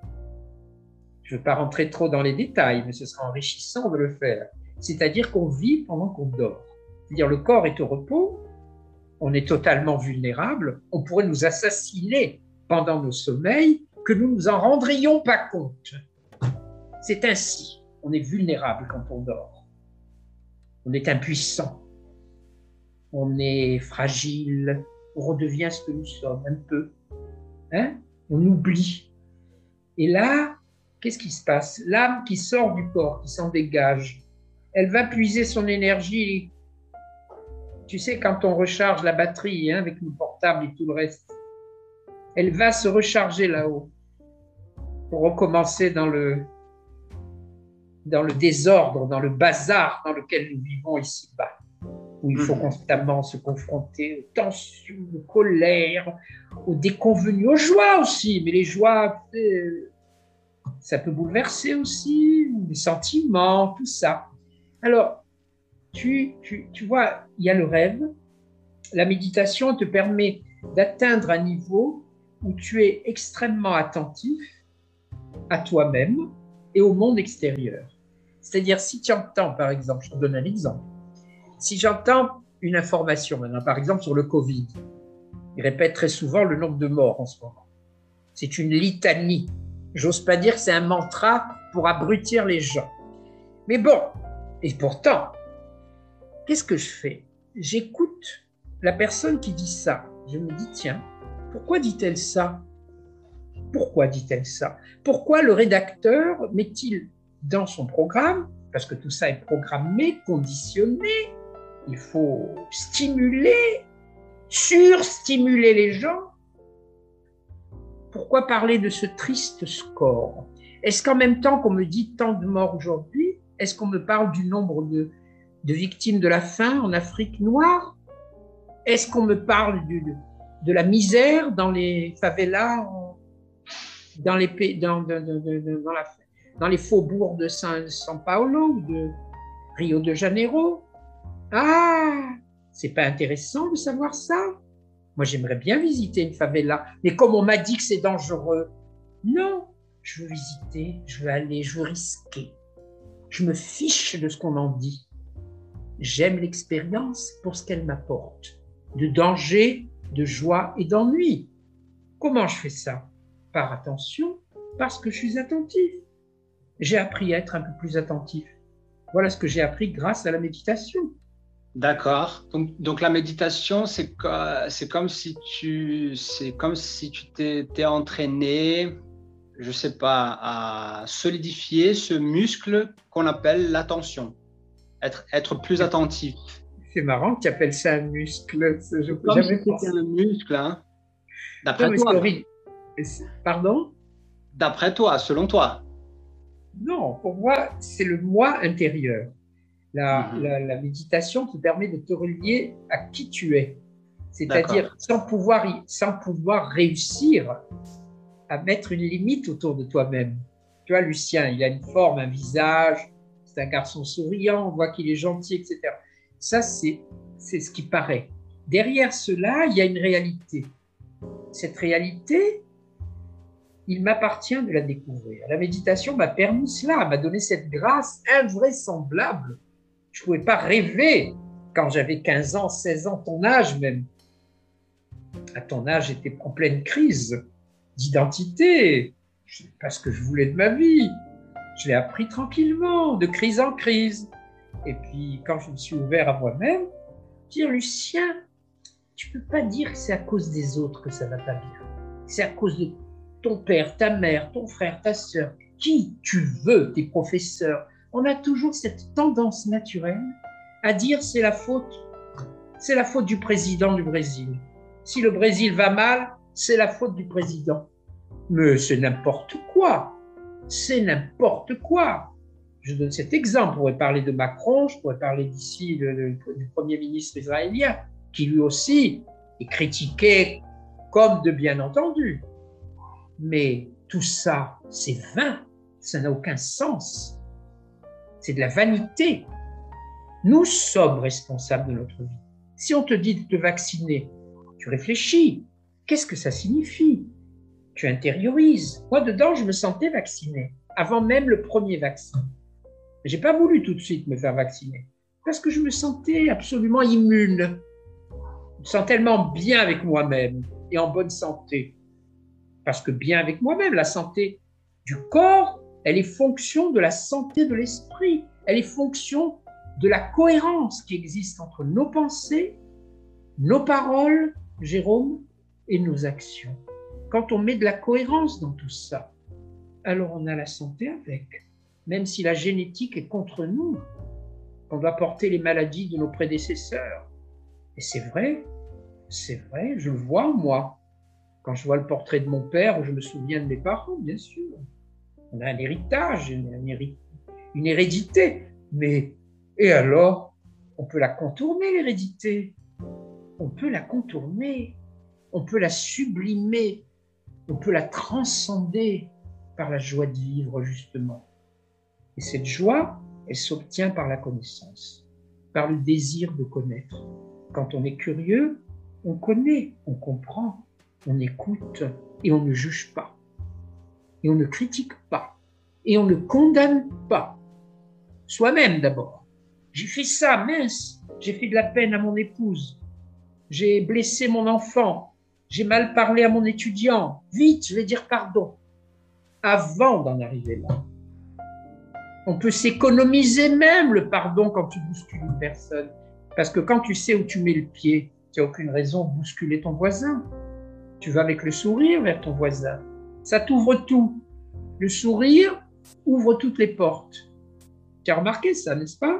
Je ne veux pas rentrer trop dans les détails, mais ce sera enrichissant de le faire. C'est-à-dire qu'on vit pendant qu'on dort. C'est-à-dire le corps est au repos, on est totalement vulnérable, on pourrait nous assassiner pendant nos sommeils, que nous ne nous en rendrions pas compte. C'est ainsi, on est vulnérable quand on dort. On est impuissant. on est fragile, on redevient ce que nous sommes un peu. Hein? On oublie. Et là, qu'est-ce qui se passe? L'âme qui sort du corps, qui s'en dégage, elle va puiser son énergie. Tu sais, quand on recharge la batterie hein, avec le portable et tout le reste, elle va se recharger là-haut pour recommencer dans le, dans le désordre, dans le bazar dans lequel nous vivons ici-bas, où il faut constamment se confronter aux tensions, aux colères, aux déconvenues, aux joies aussi. Mais les joies, ça peut bouleverser aussi, les sentiments, tout ça. Alors, tu, tu, tu vois, il y a le rêve. La méditation te permet d'atteindre un niveau où tu es extrêmement attentif à toi-même et au monde extérieur. C'est-à-dire, si tu entends, par exemple, je te donne un exemple, si j'entends une information, maintenant, par exemple, sur le Covid, il répète très souvent le nombre de morts en ce moment. C'est une litanie. J'ose pas dire que c'est un mantra pour abrutir les gens. Mais bon, et pourtant, qu'est-ce que je fais? J'écoute la personne qui dit ça. Je me dis, tiens, pourquoi dit-elle ça? Pourquoi dit-elle ça? Pourquoi le rédacteur met-il dans son programme, parce que tout ça est programmé, conditionné, il faut stimuler, surstimuler les gens. Pourquoi parler de ce triste score? Est-ce qu'en même temps qu'on me dit tant de morts aujourd'hui, est-ce qu'on me parle du nombre de, de victimes de la faim en Afrique noire? Est-ce qu'on me parle du, de la misère dans les favelas, dans les, dans, dans, dans, dans, la, dans les faubourgs de San, San Paulo ou de Rio de Janeiro? Ah, c'est pas intéressant de savoir ça? Moi, j'aimerais bien visiter une favela, mais comme on m'a dit que c'est dangereux, non, je veux visiter, je veux aller, je veux risquer. Je me fiche de ce qu'on en dit. J'aime l'expérience pour ce qu'elle m'apporte, de danger, de joie et d'ennui. Comment je fais ça? Par attention, parce que je suis attentif. J'ai appris à être un peu plus attentif. Voilà ce que j'ai appris grâce à la méditation. D'accord. Donc, donc la méditation, c'est c'est comme si tu c'est comme si tu t'étais entraîné, je sais pas, à solidifier ce muscle qu'on appelle l'attention, être être plus attentif. C'est marrant que tu appelles ça un muscle. Je comme si c'était un muscle, hein. D'après toi. Pardon? D'après toi, selon toi. Non, pour moi, c'est le moi intérieur. La, mmh. la, la méditation qui permet de te relier à qui tu es. C'est-à-dire sans pouvoir, sans pouvoir réussir à mettre une limite autour de toi-même. Tu vois, Lucien, il a une forme, un visage, c'est un garçon souriant, on voit qu'il est gentil, et cetera. Ça, c'est, c'est ce qui paraît. Derrière cela, il y a une réalité. Cette réalité, il m'appartient de la découvrir. La méditation m'a permis cela, m'a donné cette grâce invraisemblable. Je ne pouvais pas rêver quand j'avais quinze ans, seize ans, ton âge même. À ton âge, j'étais en pleine crise d'identité. Je ne sais pas ce que je voulais de ma vie. Je l'ai appris tranquillement, de crise en crise. Et puis, quand je me suis ouvert à moi-même, dire, Lucien, tu ne peux pas dire que c'est à cause des autres que ça ne va pas bien. C'est à cause de ton père, ta mère, ton frère, ta sœur, qui tu veux, tes professeurs. On a toujours cette tendance naturelle à dire c'est la faute, c'est la faute du président du Brésil. Si le Brésil va mal, c'est la faute du président. Mais c'est n'importe quoi, c'est n'importe quoi. Je donne cet exemple, on pourrait parler de Macron, je pourrais parler d'ici de, de, du Premier ministre israélien, qui lui aussi est critiqué comme de bien entendu. Mais tout ça, c'est vain, ça n'a aucun sens. C'est de la vanité. Nous sommes responsables de notre vie. Si on te dit de te vacciner, tu réfléchis. Qu'est-ce que ça signifie? Tu intériorises. Moi, dedans, je me sentais vacciné, avant même le premier vaccin. Je n'ai pas voulu tout de suite me faire vacciner, parce que je me sentais absolument immune. Je me sens tellement bien avec moi-même et en bonne santé. Parce que bien avec moi-même, la santé du corps, elle est fonction de la santé de l'esprit. Elle est fonction de la cohérence qui existe entre nos pensées nos paroles, Jérôme, et nos actions. Quand on met de la cohérence dans tout ça, alors on a la santé avec. Même si la génétique est contre nous, on doit porter les maladies de nos prédécesseurs. Et c'est vrai, c'est vrai, je le vois moi. Quand je vois le portrait de mon père, je me souviens de mes parents, bien sûr. On a un héritage, une, héri- une hérédité. Mais, et alors, on peut la contourner, l'hérédité. On peut la contourner. On peut la sublimer. On peut la transcender par la joie de vivre, justement. Et cette joie, elle s'obtient par la connaissance, par le désir de connaître. Quand on est curieux, on connaît, on comprend, on écoute et on ne juge pas. Et on ne critique pas. Et on ne condamne pas. Soi-même d'abord. J'ai fait ça, mince, j'ai fait de la peine à mon épouse. J'ai blessé mon enfant. J'ai mal parlé à mon étudiant. Vite, je vais dire pardon. Avant d'en arriver là. On peut s'économiser même le pardon quand tu bouscules une personne. Parce que quand tu sais où tu mets le pied, tu n'as aucune raison de bousculer ton voisin. Tu vas avec le sourire vers ton voisin. Ça t'ouvre tout. Le sourire ouvre toutes les portes. Tu as remarqué ça, n'est-ce pas?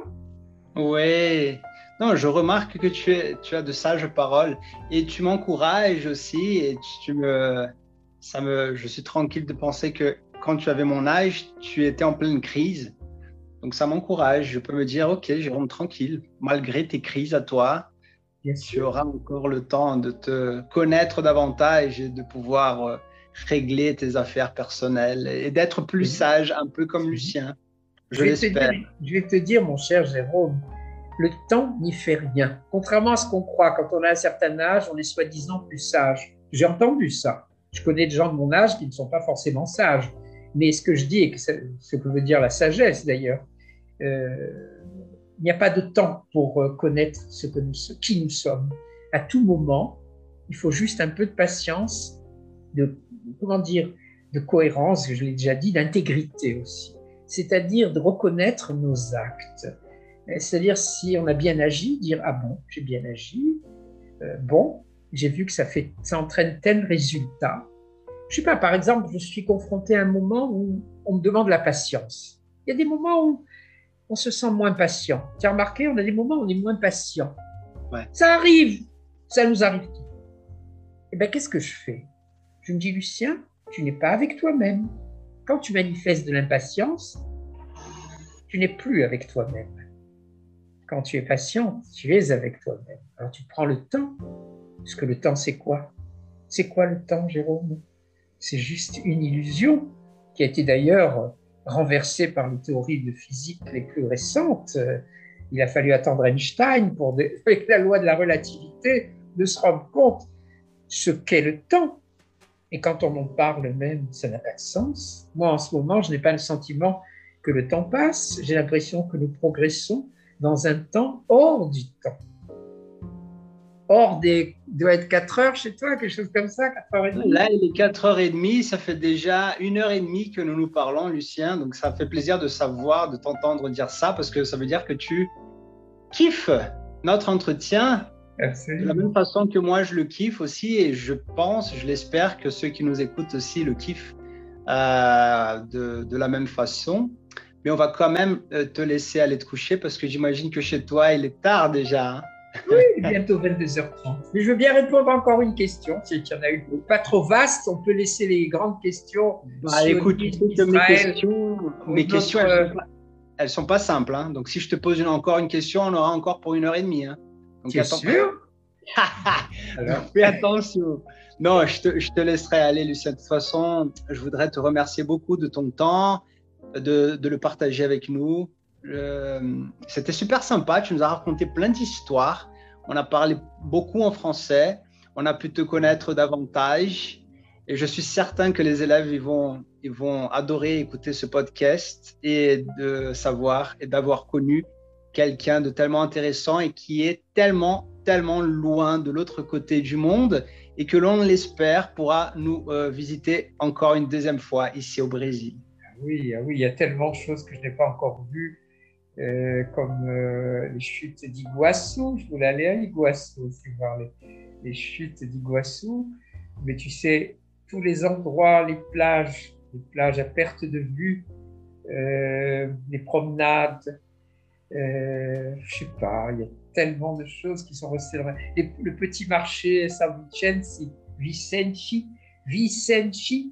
Oui. Non, je remarque que tu, es, tu as de sages paroles et tu m'encourages aussi et tu me, ça me, je suis tranquille de penser que quand tu avais mon âge, tu étais en pleine crise. Donc ça m'encourage. Je peux me dire, ok, Jérôme, tranquille, malgré tes crises à toi, Bien tu sûr. auras encore le temps de te connaître davantage et de pouvoir régler tes affaires personnelles et d'être plus sage, un peu comme Lucien. Je, je vais te l'espère. dire, je vais te dire, mon cher Jérôme, le temps n'y fait rien. Contrairement à ce qu'on croit, quand on a un certain âge, on est soi-disant plus sage. J'ai entendu ça. Je connais des gens de mon âge qui ne sont pas forcément sages. Mais ce que je dis, et ce que veut dire la sagesse d'ailleurs, euh, il n'y a pas de temps pour connaître ce que nous, qui nous sommes. À tout moment, il faut juste un peu de patience, de, comment dire, de cohérence, je l'ai déjà dit, d'intégrité aussi. C'est-à-dire de reconnaître nos actes. C'est-à-dire si on a bien agi, dire « Ah bon, j'ai bien agi, euh, bon, j'ai vu que ça, fait, ça entraîne tel résultat. » Je ne sais pas, par exemple, je suis confronté à un moment où on me demande la patience. Il y a des moments où on se sent moins patient. Tu as remarqué, on a des moments où on est moins patient. Ouais. Ça arrive, ça nous arrive tout. Eh bien, qu'est-ce que je fais? Je me dis, Lucien, tu n'es pas avec toi-même. Quand tu manifestes de l'impatience, tu n'es plus avec toi-même. Quand tu es patient, tu es avec toi-même. Alors tu prends le temps, parce que le temps, c'est quoi? C'est quoi le temps, Jérôme? C'est juste une illusion qui a été d'ailleurs renversée par les théories de physique les plus récentes. Il a fallu attendre Einstein pour, avec la loi de la relativité, de se rendre compte ce qu'est le temps. Et quand on en parle même, ça n'a pas de sens. Moi, en ce moment, je n'ai pas le sentiment que le temps passe. J'ai l'impression que nous progressons dans un temps hors du temps. Hors des... Il doit être quatre heures chez toi, quelque chose comme ça, quatre heures trente. Là, il est quatre heures trente, ça fait déjà une heure trente que nous nous parlons, Lucien. Donc, ça fait plaisir de savoir, de t'entendre dire ça, parce que ça veut dire que tu kiffes notre entretien. Absolument. De la même façon que moi, je le kiffe aussi. Et je pense, je l'espère que ceux qui nous écoutent aussi le kiffent euh, de, de la même façon. Mais on va quand même te laisser aller te coucher parce que j'imagine que chez toi, il est tard déjà. Hein. Oui, bientôt vingt-deux heures trente. Mais je veux bien répondre à encore une question, si il y en a une. Pas trop vaste, on peut laisser les grandes questions. Bah, écoute, tu sais que mes questions, mes questions elles ne sont, pas, sont pas simples. Hein. Donc, si je te pose une, encore une question, on aura encore pour une heure et demie. Hein. Donc, tu es attends. sûr? Alors, fais attention. Non, je te, je te laisserai aller, Lucien. De toute façon, je voudrais te remercier beaucoup de ton temps, de, de le partager avec nous. Euh, c'était super sympa, tu nous as raconté plein d'histoires, on a parlé beaucoup en français, on a pu te connaître davantage et je suis certain que les élèves ils vont, ils vont adorer écouter ce podcast et de savoir et d'avoir connu quelqu'un de tellement intéressant et qui est tellement, tellement loin de l'autre côté du monde et que l'on l'espère pourra nous euh, visiter encore une deuxième fois ici au Brésil. Oui, oui, il y a tellement de choses que je n'ai pas encore vues. euh, comme euh, les chutes d'Iguassou. Je voulais aller à Iguassou aussi voir les, les chutes d'Iguassou. Mais tu sais, tous les endroits, les plages, les plages à perte de vue, euh, les promenades, euh, je sais pas, il y a tellement de choses qui sont restées dans les, le petit marché San Vincenzi, Vicenci, Vicenci.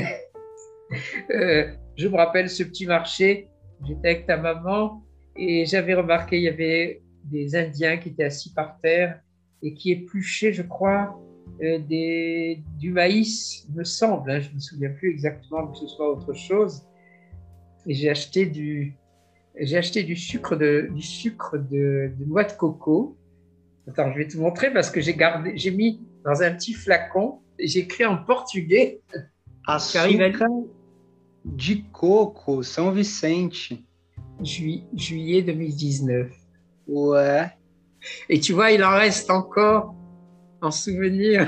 euh, je me rappelle ce petit marché, j'étais avec ta maman et j'avais remarqué il y avait des Indiens qui étaient assis par terre et qui épluchaient, je crois, euh, des, du maïs, il me semble, hein, je ne me souviens plus exactement que ce soit autre chose. Et j'ai acheté du, j'ai acheté du sucre de, du sucre de, de noix de coco. Attends, je vais te montrer parce que j'ai gardé, j'ai mis dans un petit flacon et j'ai écrit en portugais. Açúcar de coco, São Vicente. Ju, juillet deux mille dix-neuf. Ouais. Et tu vois, il en reste encore en souvenir.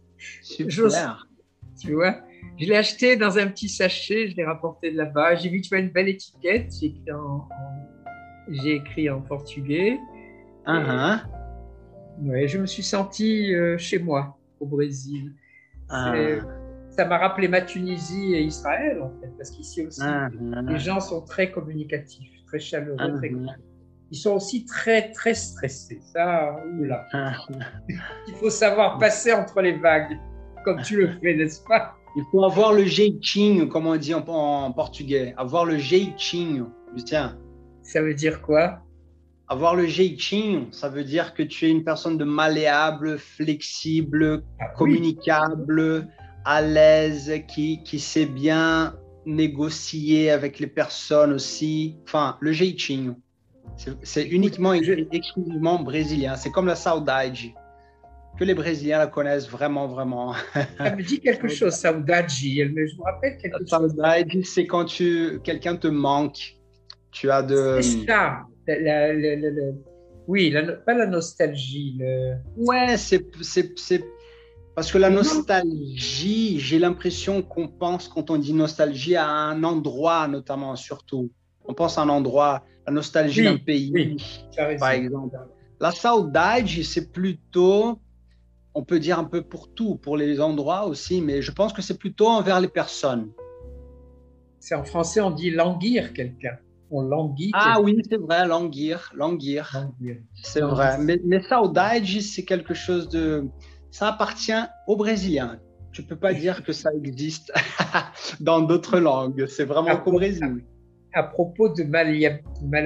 Super. Tu vois, je l'ai acheté dans un petit sachet, je l'ai rapporté de là-bas. J'ai vu, tu vois, une belle étiquette. J'ai écrit en, en, j'ai écrit en portugais. Uh-huh. Ouais, je me suis senti euh, chez moi, au Brésil. Uh-huh. Ça m'a rappelé ma Tunisie et Israël, en fait, parce qu'ici aussi, uh-huh. les gens sont très communicatifs, très chaleureux. Uh-huh. Très... Ils sont aussi très, très stressés. Ça, oula. Uh-huh. Il faut savoir passer entre les vagues, comme tu le fais, n'est-ce pas? Il faut avoir le jeitinho, comme on dit en, en portugais. Avoir le jeitinho, Lucien. Ça veut dire quoi? Avoir le jeitinho, ça veut dire que tu es une personne de malléable, flexible, ah, communicable, oui. à l'aise, qui, qui sait bien négocier avec les personnes aussi. Enfin, le jeitinho. C'est uniquement et exclusivement brésilien. C'est comme la saudade. Que les Brésiliens la connaissent vraiment, vraiment. Ça me dit quelque chose, saudade. Je me rappelle quelque chose. Saudade, c'est quand tu, quelqu'un te manque. Tu as de... C'est ça. La, la, la, la, oui, la, pas la nostalgie. Le... Ouais, c'est parce que la nostalgie, j'ai l'impression qu'on pense, quand on dit nostalgie, à un endroit notamment, surtout. On pense à un endroit, la nostalgie oui, d'un pays, oui, par exemple. La saudade, c'est plutôt, on peut dire un peu pour tout, pour les endroits aussi, mais je pense que c'est plutôt envers les personnes. C'est en français, on dit languir quelqu'un. On languit. Ah quelqu'un. Oui, c'est vrai, languir, languir. languir. C'est vrai. Mais, mais saudade, c'est quelque chose de... Ça appartient aux Brésiliens. Tu ne peux pas dire que ça existe dans d'autres langues. C'est vraiment qu'au Brésil. À propos de malléable,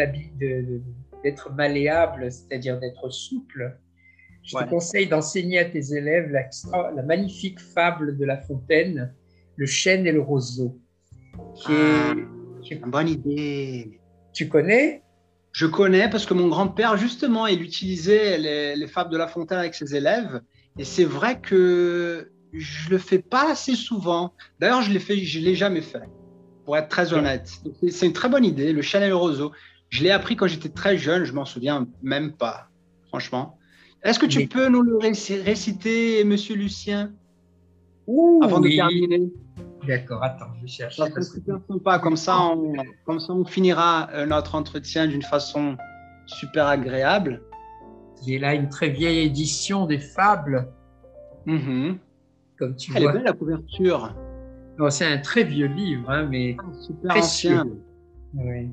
d'être malléable, c'est-à-dire d'être souple, je ouais. te conseille d'enseigner à tes élèves la, la magnifique fable de La Fontaine, Le chêne et le roseau. Qui ah, est, qui est... Une bonne idée. Tu connais? Je connais parce que mon grand-père, justement, il utilisait les, les fables de La Fontaine avec ses élèves. Et c'est vrai que je le fais pas assez souvent. D'ailleurs, je l'ai fait, je l'ai jamais fait. Pour être très honnête. C'est une très bonne idée, le chêne et le roseau. Je l'ai appris quand j'étais très jeune, je m'en souviens même pas, franchement. Est-ce que tu Mais... peux nous le réciter, monsieur Lucien, Ouh, avant oui. de terminer? D'accord, attends, je cherche. Ça serait super sympa, comme ça, on, comme ça on finira notre entretien d'une façon super agréable. J'ai là une très vieille édition des fables. Mm-hmm. Comme tu Elle vois. est belle la couverture. C'est un très vieux livre, hein, mais ah, super ancien. Oui.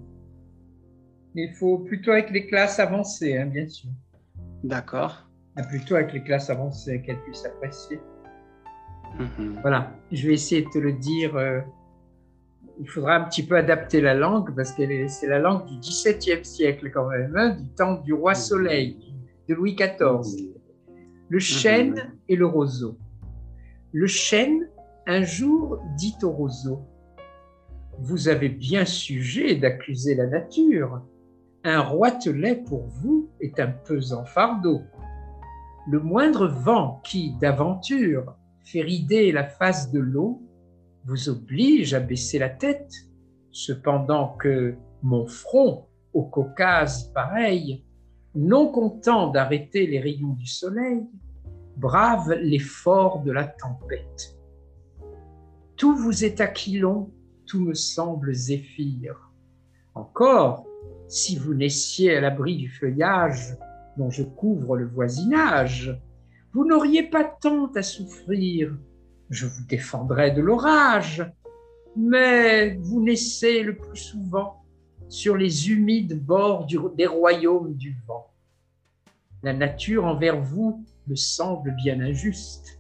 Il faut plutôt avec les classes avancées, hein, bien sûr. D'accord. Plutôt avec les classes avancées, qu'elles puissent apprécier. Mm-hmm. Voilà, je vais essayer de te le dire. Euh, il faudra un petit peu adapter la langue parce que c'est la langue du dix-septième siècle quand même, hein, du temps du roi Soleil, de Louis quatorze. Le chêne mm-hmm. et le roseau. Le chêne, un jour, dit au roseau, « Vous avez bien sujet d'accuser la nature. Un roitelet pour vous est un pesant fardeau. Le moindre vent qui, d'aventure, fait rider la face de l'eau, vous oblige à baisser la tête, cependant que mon front, au Caucase pareil, non content d'arrêter les rayons du soleil, brave l'effort de la tempête. Tout vous est aquilon, tout me semble zéphyr. Encore, si vous naissiez à l'abri du feuillage dont je couvre le voisinage, vous n'auriez pas tant à souffrir, je vous défendrais de l'orage, mais vous naissez le plus souvent sur les humides bords du, des royaumes du vent. La nature envers vous me semble bien injuste.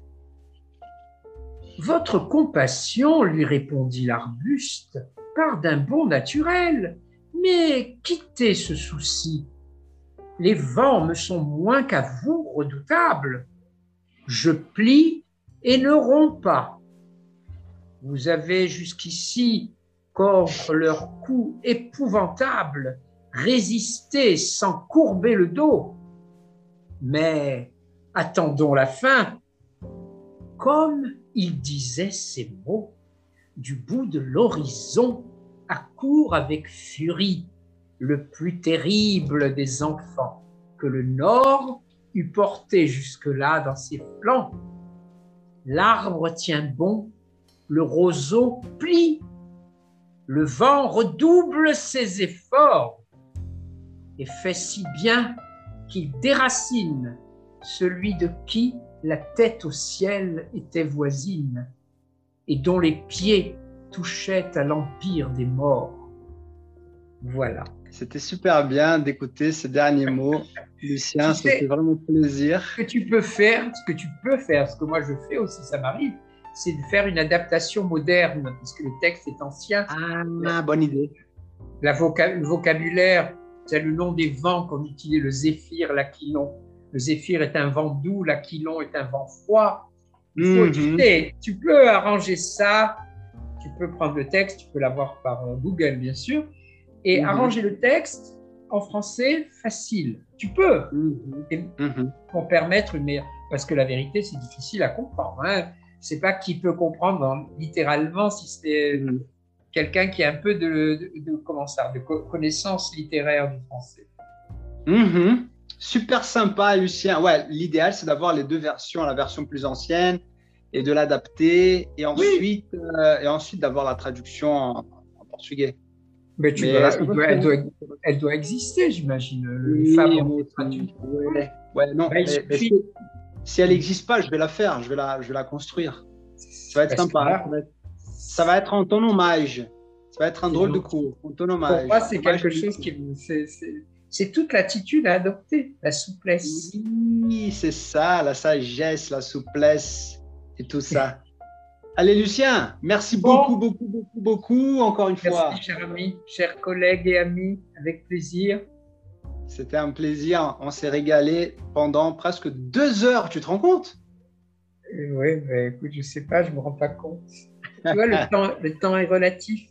Votre compassion, lui répondit l'arbuste, part d'un bon naturel, mais quittez ce souci. Les vents me sont moins qu'à vous redoutables. Je plie et ne romps pas. Vous avez jusqu'ici, contre leurs coups épouvantables, résisté sans courber le dos. Mais attendons la fin. Comme il disait ces mots, du bout de l'horizon accourt avec furie le plus terrible des enfants que le Nord eût porté jusque-là dans ses flancs. L'arbre tient bon, le roseau plie, le vent redouble ses efforts et fait si bien qu'il déracine celui de qui la tête au ciel était voisine et dont les pieds touchaient à l'empire des morts. Voilà. C'était super bien d'écouter ces derniers mots. Lucien, ça fait vraiment plaisir. Ce que tu peux faire, ce que tu peux faire, ce que moi je fais aussi, ça m'arrive, c'est de faire une adaptation moderne, parce que le texte est ancien. Ah, bonne idée. La voca- le vocabulaire, c'est le nom des vents qu'on utilise, le zéphyr, l'aquilon. Le zéphyr est un vent doux, l'aquilon est un vent froid. Il faut, mm-hmm. tu, sais, tu peux arranger ça, tu peux prendre le texte, tu peux l'avoir par Google bien sûr, et mm-hmm. arranger le texte en français facile. Tu peux, mm-hmm. et, mm-hmm. pour permettre une meilleure... Parce que la vérité, c'est difficile à comprendre. Hein. Je ne sais pas qui peut comprendre hein, littéralement si c'est mm-hmm. quelqu'un qui a un peu de, de, de, comment ça, de connaissance littéraire du français. Mm-hmm. Super sympa, Lucien. Ouais, l'idéal, c'est d'avoir les deux versions, la version plus ancienne et de l'adapter, et ensuite, oui. euh, et ensuite d'avoir la traduction en, en portugais. Mais, tu Mais dois, elle, doit, elle, doit, elle doit exister, j'imagine. Le oui, Fabre traduit. Ouais, ouais, non. Bah, mais, mais si, si elle n'existe pas, je vais la faire, je vais la, je vais la construire. Ça va être sympa. Ça va être, ça va être en ton hommage. Ça va être un drôle de cours. En ton hommage. Pour moi, c'est quelque chose qui. C'est, c'est... C'est toute l'attitude à adopter, la souplesse. Oui, c'est ça, la sagesse, la souplesse et tout ça. Allez, Lucien, merci bon. beaucoup, beaucoup, beaucoup, beaucoup, encore une merci, fois. Merci, cher ami, chers collègues et amis, avec plaisir. C'était un plaisir, on s'est régalé pendant presque deux heures, tu te rends compte? Oui, mais écoute, je ne sais pas, je ne me rends pas compte. Tu vois, le, temps, le temps est relatif.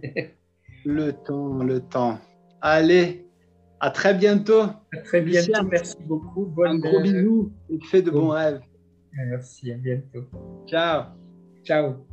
Le temps, le temps. Allez. À très bientôt. À très bientôt. Lucien, merci beaucoup. Bonne un gros bisou et fais de bon. bons rêves. Merci, à bientôt. Ciao. Ciao.